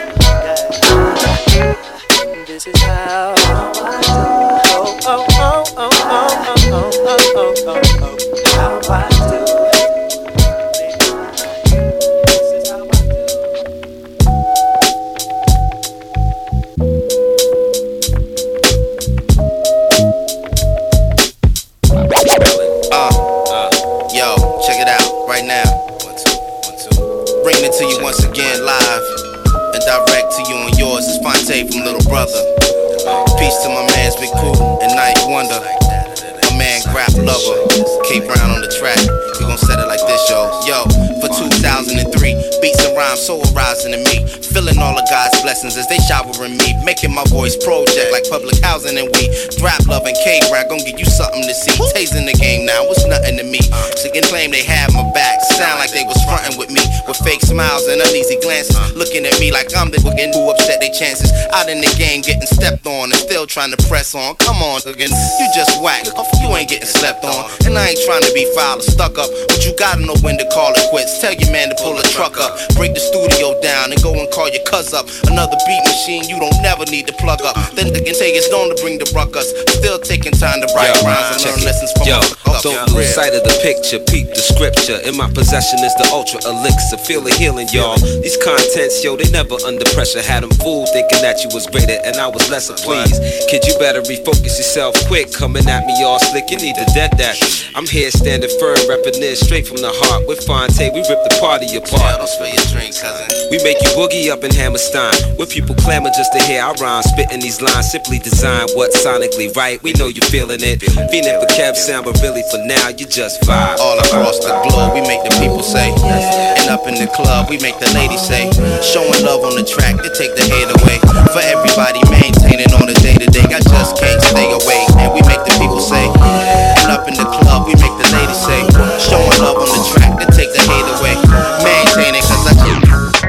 S1: Yeah. This is how I do. Oh, oh, oh, oh, oh, oh, oh, oh, oh, oh,
S7: brother. Peace to my mans Big Pooh and Ninth Wonder. My man Grap Lover, K Brown on the track. We gon' set it like this, yo. Yo, for two thousand three, beats and rhymes so arising in me. Feeling all of God's blessings as they showering me. Making my voice project like public housing and we. Grap Love and K Brown gon' give you something to see. Tasing the game now, it's nothing to me. She can claim they had my back. Sound like they was frontin' with me. With fake smiles and uneasy glances. Looking at me like I'm the wicked who upset their chances. Out in the game getting stepped on and still trying to press on. Come on, again, you just whack. You ain't getting slept on. And I ain't trying to be foul or stuck up, but you gotta know when to call it quits. Tell your man to pull a truck up. Break the studio down and go and call your cuz up. Another beat machine you don't never need to plug up. Then they can take it's known to bring the ruckus. Still taking time to write rhymes and learn lessons from
S13: Yo,
S7: up.
S13: don't lose sight of the picture, peep the scripture. In my possession is the ultra elixir. Feel the healing, y'all. These contents, yo, they never under pressure. Had them fooled thinking that you was greater and I was lesser. Please, kid, you better refocus yourself quick. Coming at me all slick, you need to dead that. I'm here standing firm, repping this straight from the heart. With Fonte, we rip the party apart.
S7: Don't spill your drink, cousin.
S13: We make you boogie up in Hammerstein. Where people clamor just to hear our rhymes. Spitting these lines, simply design what's sonically right. We know you're feeling it. Feeling for Kev sound, but really for now, you just vibe.
S7: All across the globe, we make the people say. And up in the club, we make the ladies say. Showing love on the track to take the hate away. For everybody maintaining on the day to day. I just can't stay away. And we make the people say. And up in the club, we make the ladies say. Showing love on the track to take the hate away. Maintaining cause I can't.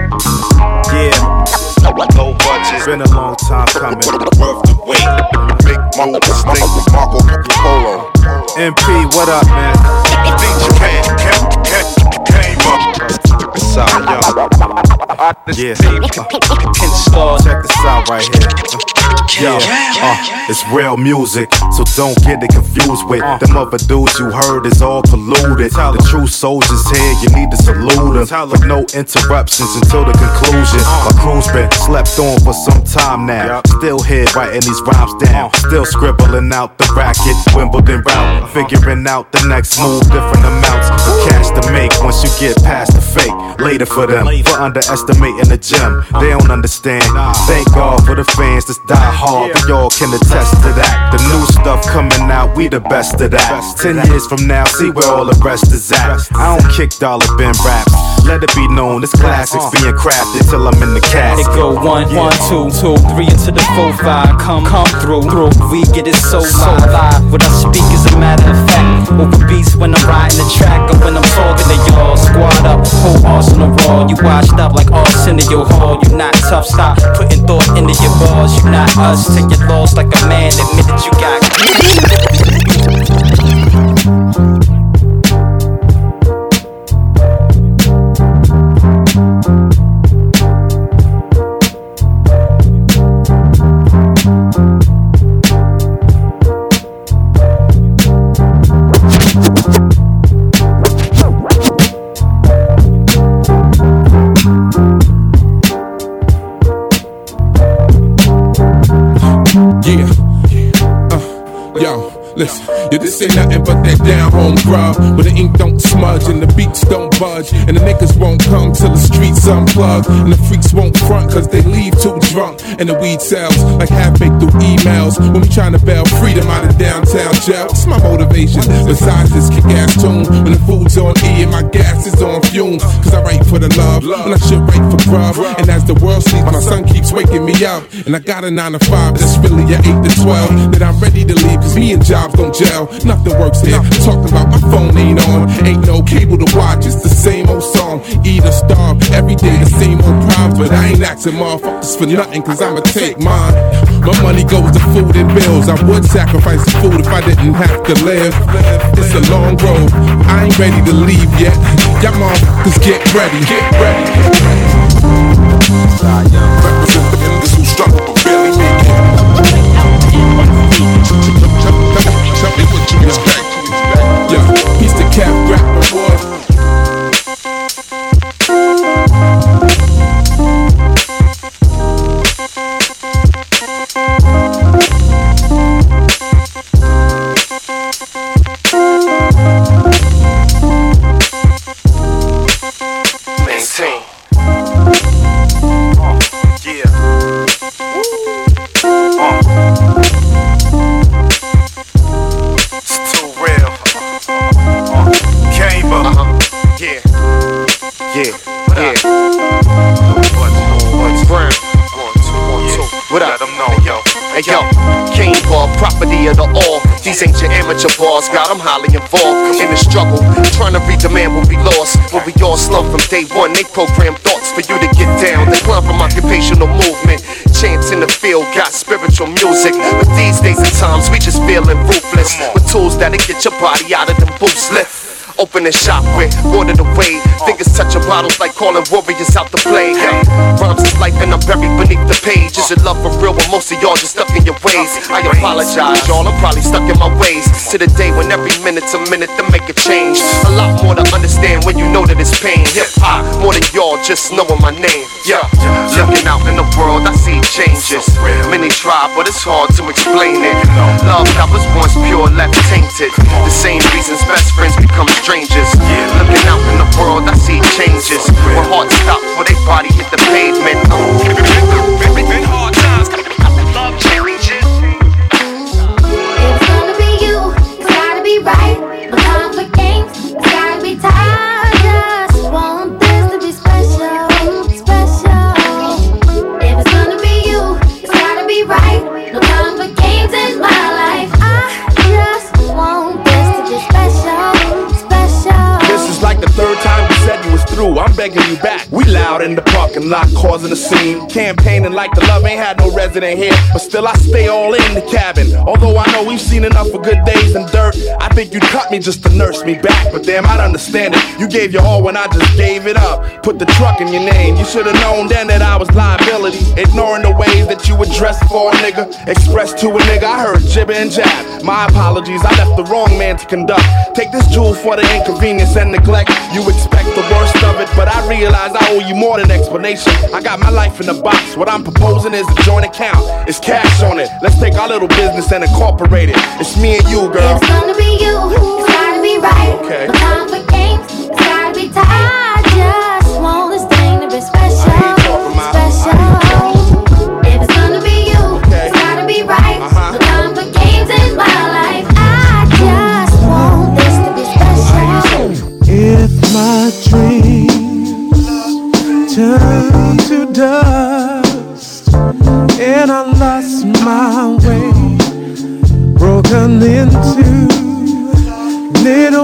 S6: Yeah. No budget. Been a long time coming.
S12: Worth the wait. Big Marco Distinct with Marco Polo.
S6: M P, what up, man?
S12: D J came up.
S6: Side, yo. Yeah. Uh, check this out right here. Yo, uh, it's real music, so don't get it confused with them other dudes you heard is all polluted. The true soldiers here, you need to salute them with no interruptions until the conclusion. My crew's been slept on for some time now. Still here writing these rhymes down. Still scribbling out the racket, Wimbledon route. Figuring out the next move, different amounts of cash to make once you get past the fake. Later for them, for underestimating the gem. They don't understand. Thank God for the fans that's die hard. We all can attest to that. The new stuff coming out, we the best of that. Ten years from now, see where all the rest is at. I don't kick dollar bin raps. Let it be known, this classics being crafted till I'm in the cast.
S20: It go one, one, two, two, three into the four, five. Come, come through, through. We get it so live. What I speak is a matter of fact. Over beats when I'm riding the track, or when I'm talking to y'all. Squad up, whole arsenal raw. You washed up like Arsenio Hall. You not tough, stop putting thought into your bars. You not us, take your loss like a man. Admit that you got.
S14: Listen, yeah, this ain't nothing but that down home grub, where the ink don't smudge and the beats don't budge, and the niggas won't come till the streets unplug, and the freaks won't front cause they leave too drunk, and the weed sells like half-baked through emails, when we trying to bail freedom out of downtown jail. It's my motivation, besides this kick-ass tune, when the food's on E and my gas is on fumes, cause I write for the love, when I should write for grub, and as the world sleeps, my son keeps waking me up, and I got a nine to five that's really a eight to twelve, that I'm ready to leave cause me and jobs don't gel, nothing works here. Talking about my phone ain't on, ain't no cable to watch, it's the same old song. Eat or starve, every day the same old problems, but I ain't asking motherfuckers for nothing, cause I'ma take mine. My money goes to food and bills. I would sacrifice the food if I didn't have to live. It's a long road, I ain't ready to leave yet. Y'all motherfuckers get ready, get ready. Represent the niggas who struggle but barely make it. Tell me what you expect. Yeah, he's the cap rapper, boy. Maintain. Uh, yeah. Woo.
S9: Yeah, yeah. Brown. What up? Let them know, yo. Hey, yo. King Ball, property of the all. These ain't your amateur bars, got them highly involved in the struggle. Trying to read the man when we lost. When we all slump from day one, they program thoughts for you to get down. They climb from occupational movement. Chants in the field got spiritual music. But these days and times, we just feeling ruthless. With tools that'll get your body out of them boots lift. Open a shop with watered away. Fingers touching bottles like calling warriors out to play. Hey, rhymes is life and I'm buried beneath the page. Is your love for real, but most of y'all just stuck in your ways. I apologize, y'all, I'm probably stuck in my ways. To the day when every minute's a minute to make a change. A lot more to understand when you know that it's pain. Hip hop, more than y'all just knowing my name. Yeah, looking out in the world, I see changes. Many try, but it's hard to explain it. Love that was once pure, left tainted. The same reasons best friends become strangers. Looking out in the world, I see changes. When hearts stop, when they body hit the pavement. Been hard times, love changes.
S11: It's gonna be you, it's gotta be right. No time for games, it's gotta be tight. Just want this to be special, special. If it's gonna be you, it's gotta be right. No time for games in my life. I just want this to be special.
S10: This is like the third time you said you was through. I'm begging you back. We loud in the parking lot, causing a scene. Campaigning like the love ain't had no resident here. But still I stay all in the cabin. Although I know we've seen enough of good days and dirt, I think you'd cut me just to nurse me back. But damn, I'd understand it. You gave your all when I just gave it up. Put the truck in your name. You should've known then that I was liability. Ignoring the ways that you would dress for a nigga. Express to a nigga, I heard jibber and jab. My apologies, I left the wrong man to conduct. Take this jewel for the inconvenience and neglect. You expect the worst of it, but I realize I owe you more than explanation. I got my life in the box. What I'm proposing is a joint account. It's cash on it. Let's take our little business and incorporate it. It's me and you, girl.
S11: It's gonna be you. It's gotta be right.
S10: Okay.
S11: No time for games. It's gotta be tight. I just want this thing to be special, special. If it's gonna be you, it's gotta be right. No time for games in my life. I just want this to be special.
S1: If my dreams turn to dust and I lost my way, broken into little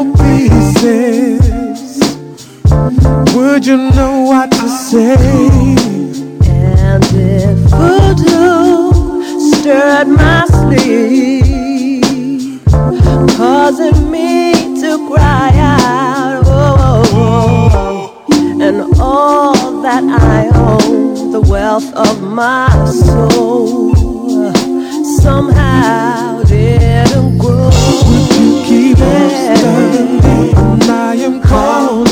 S1: pieces, would you know what to say?
S23: And if voodoo stirred my sleep, causing me to cry out, oh, oh, oh, and all that I own, the wealth of my soul, somehow didn't grow.
S1: Would you keep on studying me when I am calling?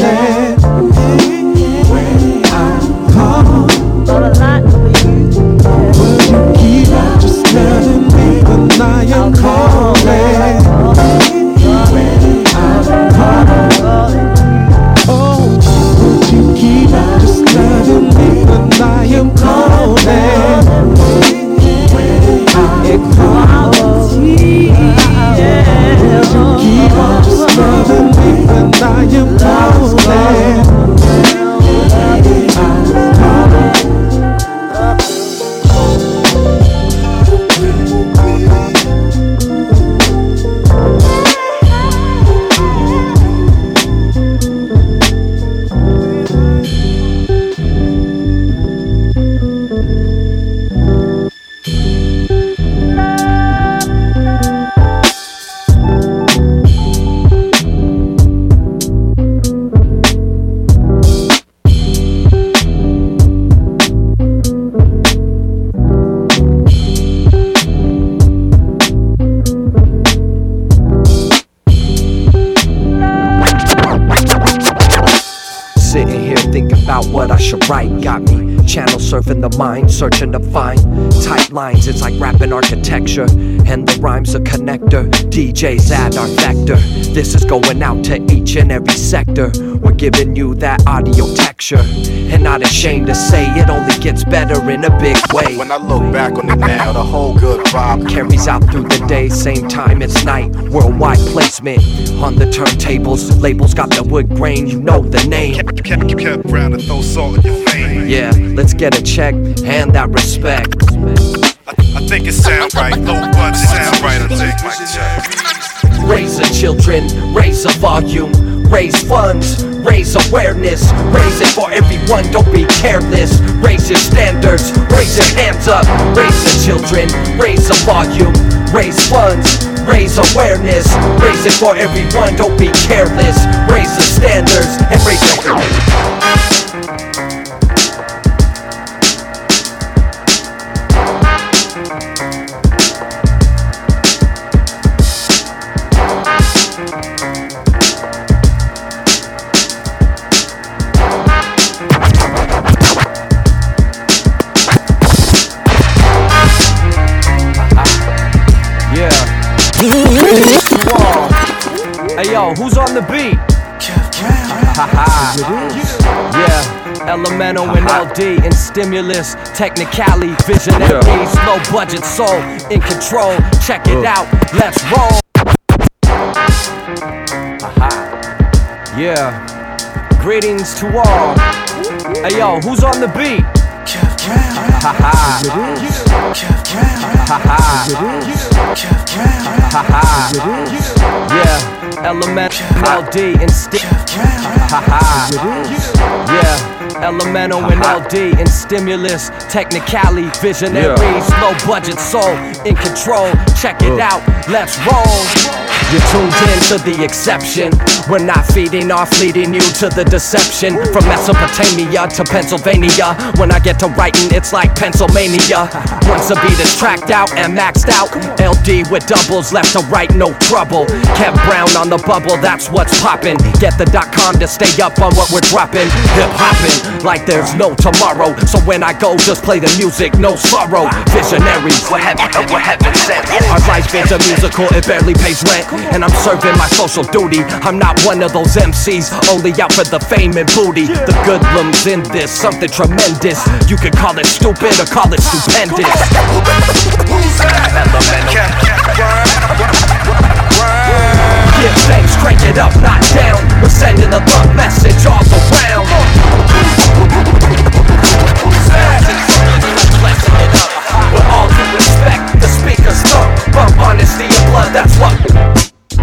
S1: When I'm calling,
S23: but a lot for you.
S1: Would you keep on just studying me when I am calling? When I'm calling. Oh, would you keep on just studying me when I am calling? When I'm calling. Yeah. Would you keep on just loving me when I am calling?
S17: about what I should write. Got me channel surfing the mind, searching to find tight lines. It's like rapping architecture, and the rhyme's a connector. D Js add our vector. This is going out to each and every sector. We're giving you that audio texture, and not ashamed to say it only gets better in a big way.
S9: When I look back on it now, the whole good vibe
S17: carries out through the day, same time it's night. Worldwide placement on the turntables. Labels got the wood grain, you know the name.
S12: Kept, kept, kept round to throw salt in your vein.
S17: Yeah, let's get a check and that respect.
S12: I, I think it sound right, low budget sound right. I take my check.
S17: Raise the children, raise the volume, raise funds, raise awareness, raise it for everyone, don't be careless. Raise your standards, raise your hands up. Raise the children, raise the volume, raise funds, raise awareness, raise it for everyone, don't be careless. Raise the standards and raise your Hey yo, who's on the beat? Yeah, Elemental and L D and Stimulus, Technically, Visionaries, low budget soul, in control. Check it out, let's roll. Yeah, greetings to all. Hey yo, who's on the beat? Yeah, Elemental, L D and Sti. Yeah, Elemental and L D and Stimulus, Technically, Visionaries, low budget soul, in control. Check it out, let's roll. You're tuned in to the exception. We're not feeding off, leading you to the deception. From Mesopotamia to Pennsylvania, when I get to writing, it's like Pennsylvania. Once the beat is tracked out and maxed out, L D with doubles, left to right, no trouble. Kev Brown on the bubble, that's what's poppin'. Get the dot com to stay up on what we're dropping. Hip hoppin' like there's no tomorrow. So when I go, just play the music, no sorrow. Visionaries, we're heaven, we're heaven sent. Our life is a musical, it barely pays rent. And I'm serving my social duty. I'm not one of those M Cs, only out for the fame and booty. The good lum's in this, something tremendous. You could call it stupid or call it stupendous. Give thanks, crank it up, not down. We're sending the love message all around. Blessing it up. With all due respect, the speakers thump. Bump honesty and blood, that's what.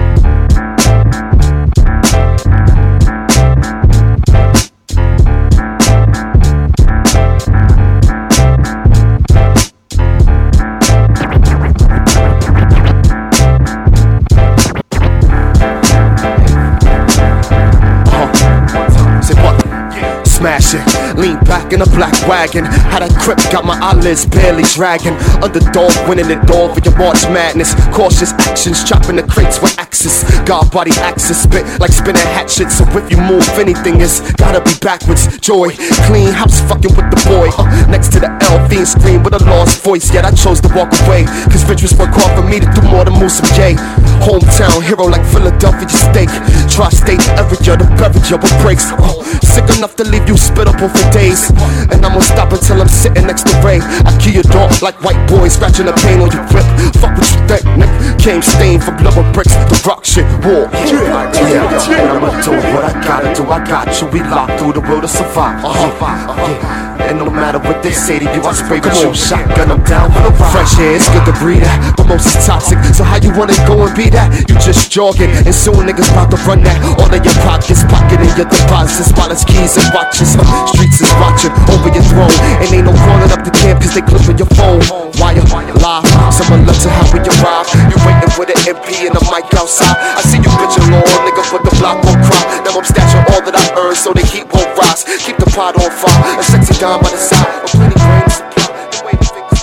S9: Smash it, lean back in a black wagon. How that crip got my eyelids barely dragging. Underdog winning it all for your March Madness. Cautious actions, chopping the crates with axes. God body axis, spit like spinning hatchet. So if you move anything, it's gotta be backwards. Joy, clean house fucking with the boy. uh, Next to the L, fiend scream with a lost voice. Yet I chose to walk away, cause riches work hard for me to do more than move some J. Hometown hero like Philadelphia steak. Tri-state area, the beverage of what breaks. uh, Sick enough to leave you spittable for days. And I'm gonna stop until I'm sitting next to Ray. I kill your dog like white boys scratching the pain on your grip. Fuck what you think, nigga. Came stained from rubber bricks, the rock shit, war. Yeah, yeah, and I'ma do what I gotta do. I got you, we locked through the world to survive. Uh-huh, uh-huh. And no matter what they say to you, I spray with you. Shotgun, I'm down with a ride. Fresh air, it's good to breathe that, but most is toxic. So how you wanna go and be that? You just jogging, and soon niggas about to run that. All in your pockets, pocketing your deposits, wallets, keys, and watches. Uh, streets is watching over your throne, and ain't no calling up the camp cause they clipping your phone. Wire, live, someone love to how we arrive. You waiting with an M P and a mic outside. I see you bitching long, nigga, but the block won't cry. Now I'm stashing all that I earned so the heat won't rise. Keep the pot on fire, a sexy dime by the side, a plenty grain supply. The way the fingers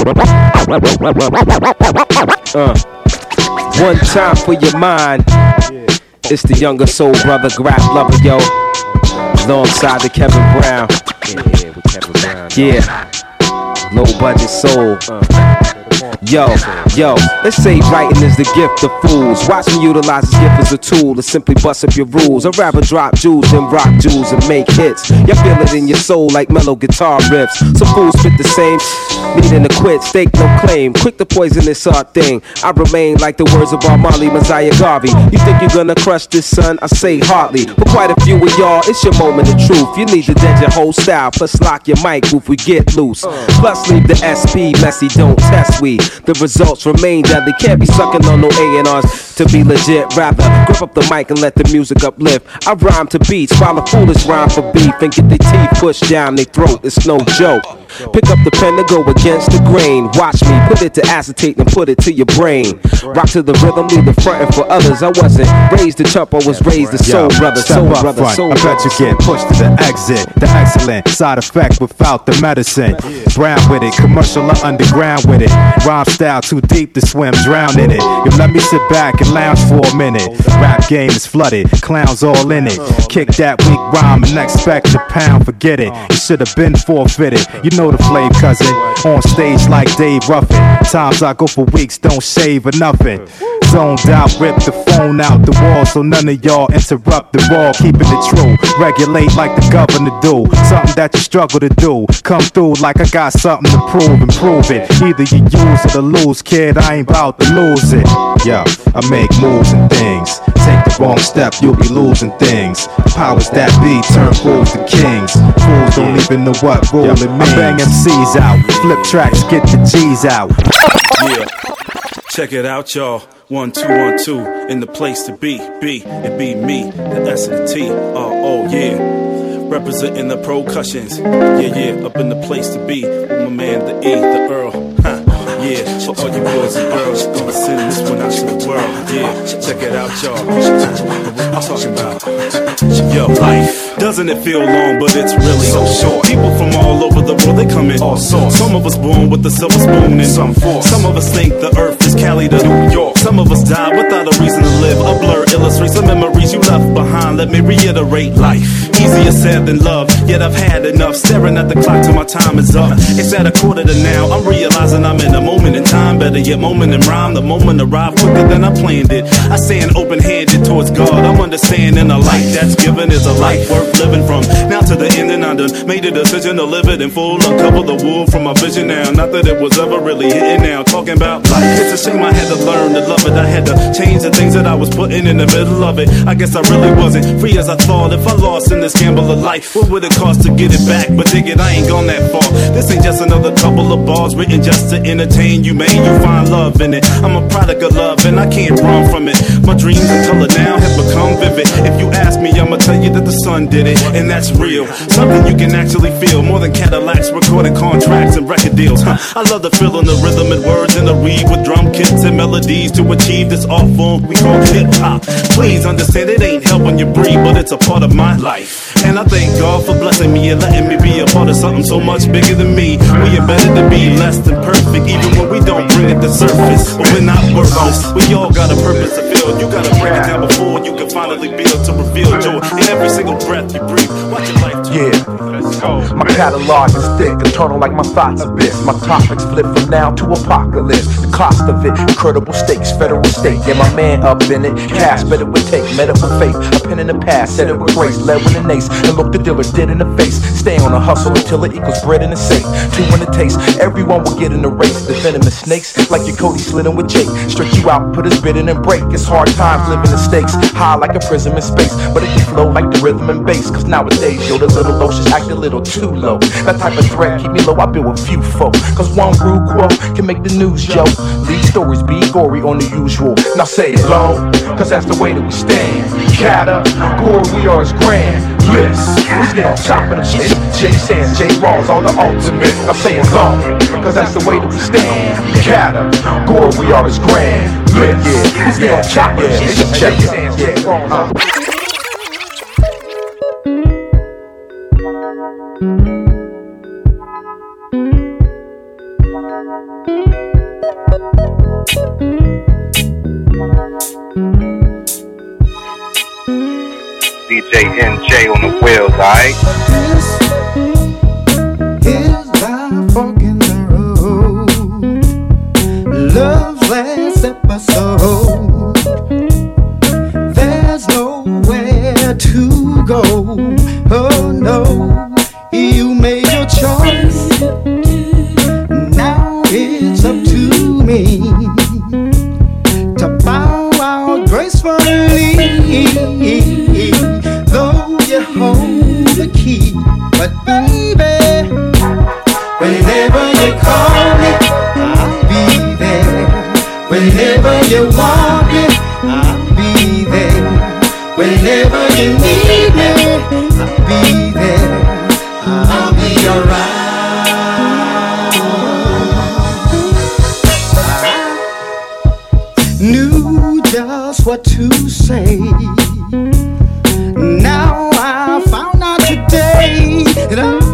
S22: Uh, one time for your mind. It's the younger soul brother, Grap Lover, yo. Alongside the Kevin Brown. Yeah, with Kevin Brown. Yeah. Low budget soul. Uh. Yo, yo, let's say writing is the gift of fools. Watch me utilize this gift as a tool to simply bust up your rules. I'd rather drop jewels than rock jewels and make hits. You feel it in your soul like mellow guitar riffs. Some fools spit the same, needing to quit, stake no claim. Quick to poison this art thing. I remain like the words of Bob Marley, Messiah Garvey. You think you're gonna crush this, son? I say hardly. For quite a few of y'all, it's your moment of truth. You need to dead your whole style, plus lock your mic if we get loose. Plus leave the S P messy, don't test we. The results remain deadly. Can't be sucking on no A and R's to be legit. Rather, grip up the mic and let the music uplift. I rhyme to beats while a foolish rhyme for beef and get their teeth pushed down their throat. It's no joke. Pick up the pen to go against the grain. Watch me put it to acetate and put it to your brain. Rock to the rhythm, leave the frontin' for others. I wasn't raised to chump, I was raised to soul brother, soul brother, soul
S6: I bet you get pushed to the exit. The excellent side effect without the medicine. Brown with it, commercial or underground with it. Rhyme style too deep to swim, drown in it. You let me sit back and lounge for a minute. Rap game is flooded, clowns all in it. Kick that weak rhyme and expect a pound, forget it. You should have been forfeited. You know the flame, cousin. On stage like Dave Ruffin. Times I go for weeks, don't shave or nothing. Zoned out, rip the phone out the wall so none of y'all interrupt the ball. Keeping it true, regulate like the governor do. Something that you struggle to do. Come through like I got something to prove and prove it. Either you use it or lose, kid. I ain't about to lose it. Yo, I make moves and things. Take the wrong step, you'll be losing things. Powers that be turn fools to kings. Fools don't even know what role it means. I bang M Cs out, flip tracks, get the G's out.
S2: Yeah, check it out, y'all. One, two, one, two, in the place to be, be, it be me, the S and the T, oh, oh, yeah. Representing the percussions, yeah, yeah, up in the place to be, with my man, the E, the Earl, huh. Yeah, for all you boys and girls, gonna send this one out to the world. Yeah, check it out, y'all. I'm talking about, yo, life. Doesn't it feel long, but it's really so short. People from all over the world, they come in all sorts. Some of us born with the silver spoon in some force. Some of us think the earth is Cali to New York. Some of us die without a reason to live. A blur illustrates the memories you left behind. Let me reiterate, life easier said than love. Yet I've had enough staring at the clock till my time is up. It's at a quarter to now. I'm realizing I'm in a moment in time. Better yet, moment in rhyme. The moment arrived quicker than I planned it. I stand open-handed towards God. I'm understanding a life that's given is a life worth living from. Now to the end, and I done made a decision to live it in full. Uncover the wool from my vision now. Not that it was ever really hitting now. Talking about life. It's a shame I had to learn to love it. I had to change the things that I was putting in the middle of it. I guess I really wasn't free as I thought. If I lost in this gamble of life, what would it cost to get it back? But dig it, I ain't gone that far. This ain't just another couple of bars written just to entertain you, man. You find love in it. I'm a product of love and I can't run from it. My dreams in color now have become vivid. If you ask me, I'ma tell you that the sun did it, and that's real. Something you can actually feel more than Cadillacs, recording contracts and record deals. Huh. I love the feeling, the rhythm and words and the read with drum kits and melodies to achieve this art form we call hip hop. Please understand it ain't helping you breathe, but it's a part of my life. And I thank God for blessing me and letting me be a part of something so much bigger than me. We are better to be less than perfect, even when we don't bring it to surface. But we're not worthless. We all got a purpose to fill. You gotta break it down before you can finally be able to reveal joy in every single breath you breathe. Watch your life.
S18: Yeah, let's go. My catalog is thick, eternal like my thoughts abyss. My topics flip from now to apocalypse. The cost of it, incredible stakes, federal state. Yeah, my man up in it. Cash better would take, met it with faith. A pen in the past, said it with grace, led with an ace, and looked the dealer dead in the face. Stay on a hustle until it equals bread in the safe. Two in the taste, everyone will get in the race. The venomous snakes, like your Cody slitting with Jake. Stretch you out, put his bid in and break. It's hard times living the stakes, high like a prism in space, but it can flow like the rhythm and bass. Cause nowadays, yo, the little low just act a little too low. That type of threat keep me low, I build a few folk. Cause one rude quote can make the news, yo. Lead stories be gory on the usual. Now say it low, cause that's the way that we stand. Cata, gore, we are as grand. List, we stay on top of the shit. J Sands, J Rawls, all the ultimate. Now say it low, cause that's the way that we stand. Cata, gore, we are as grand. List, we stay on top of the shit. J Sands, J Rawls.
S12: D J N J on the wheels, alright?
S8: This is our fork in the road. Love's last episode. There's nowhere to go. Oh no, you made your choice. Now it's up to me to bow out gracefully. Though you hold the key, but baby, whenever you call me, I'll be there. Whenever you want me, I'll be there. Whenever you need me, I'll be there. I'll be around. I knew just what to say. Now I found out today that I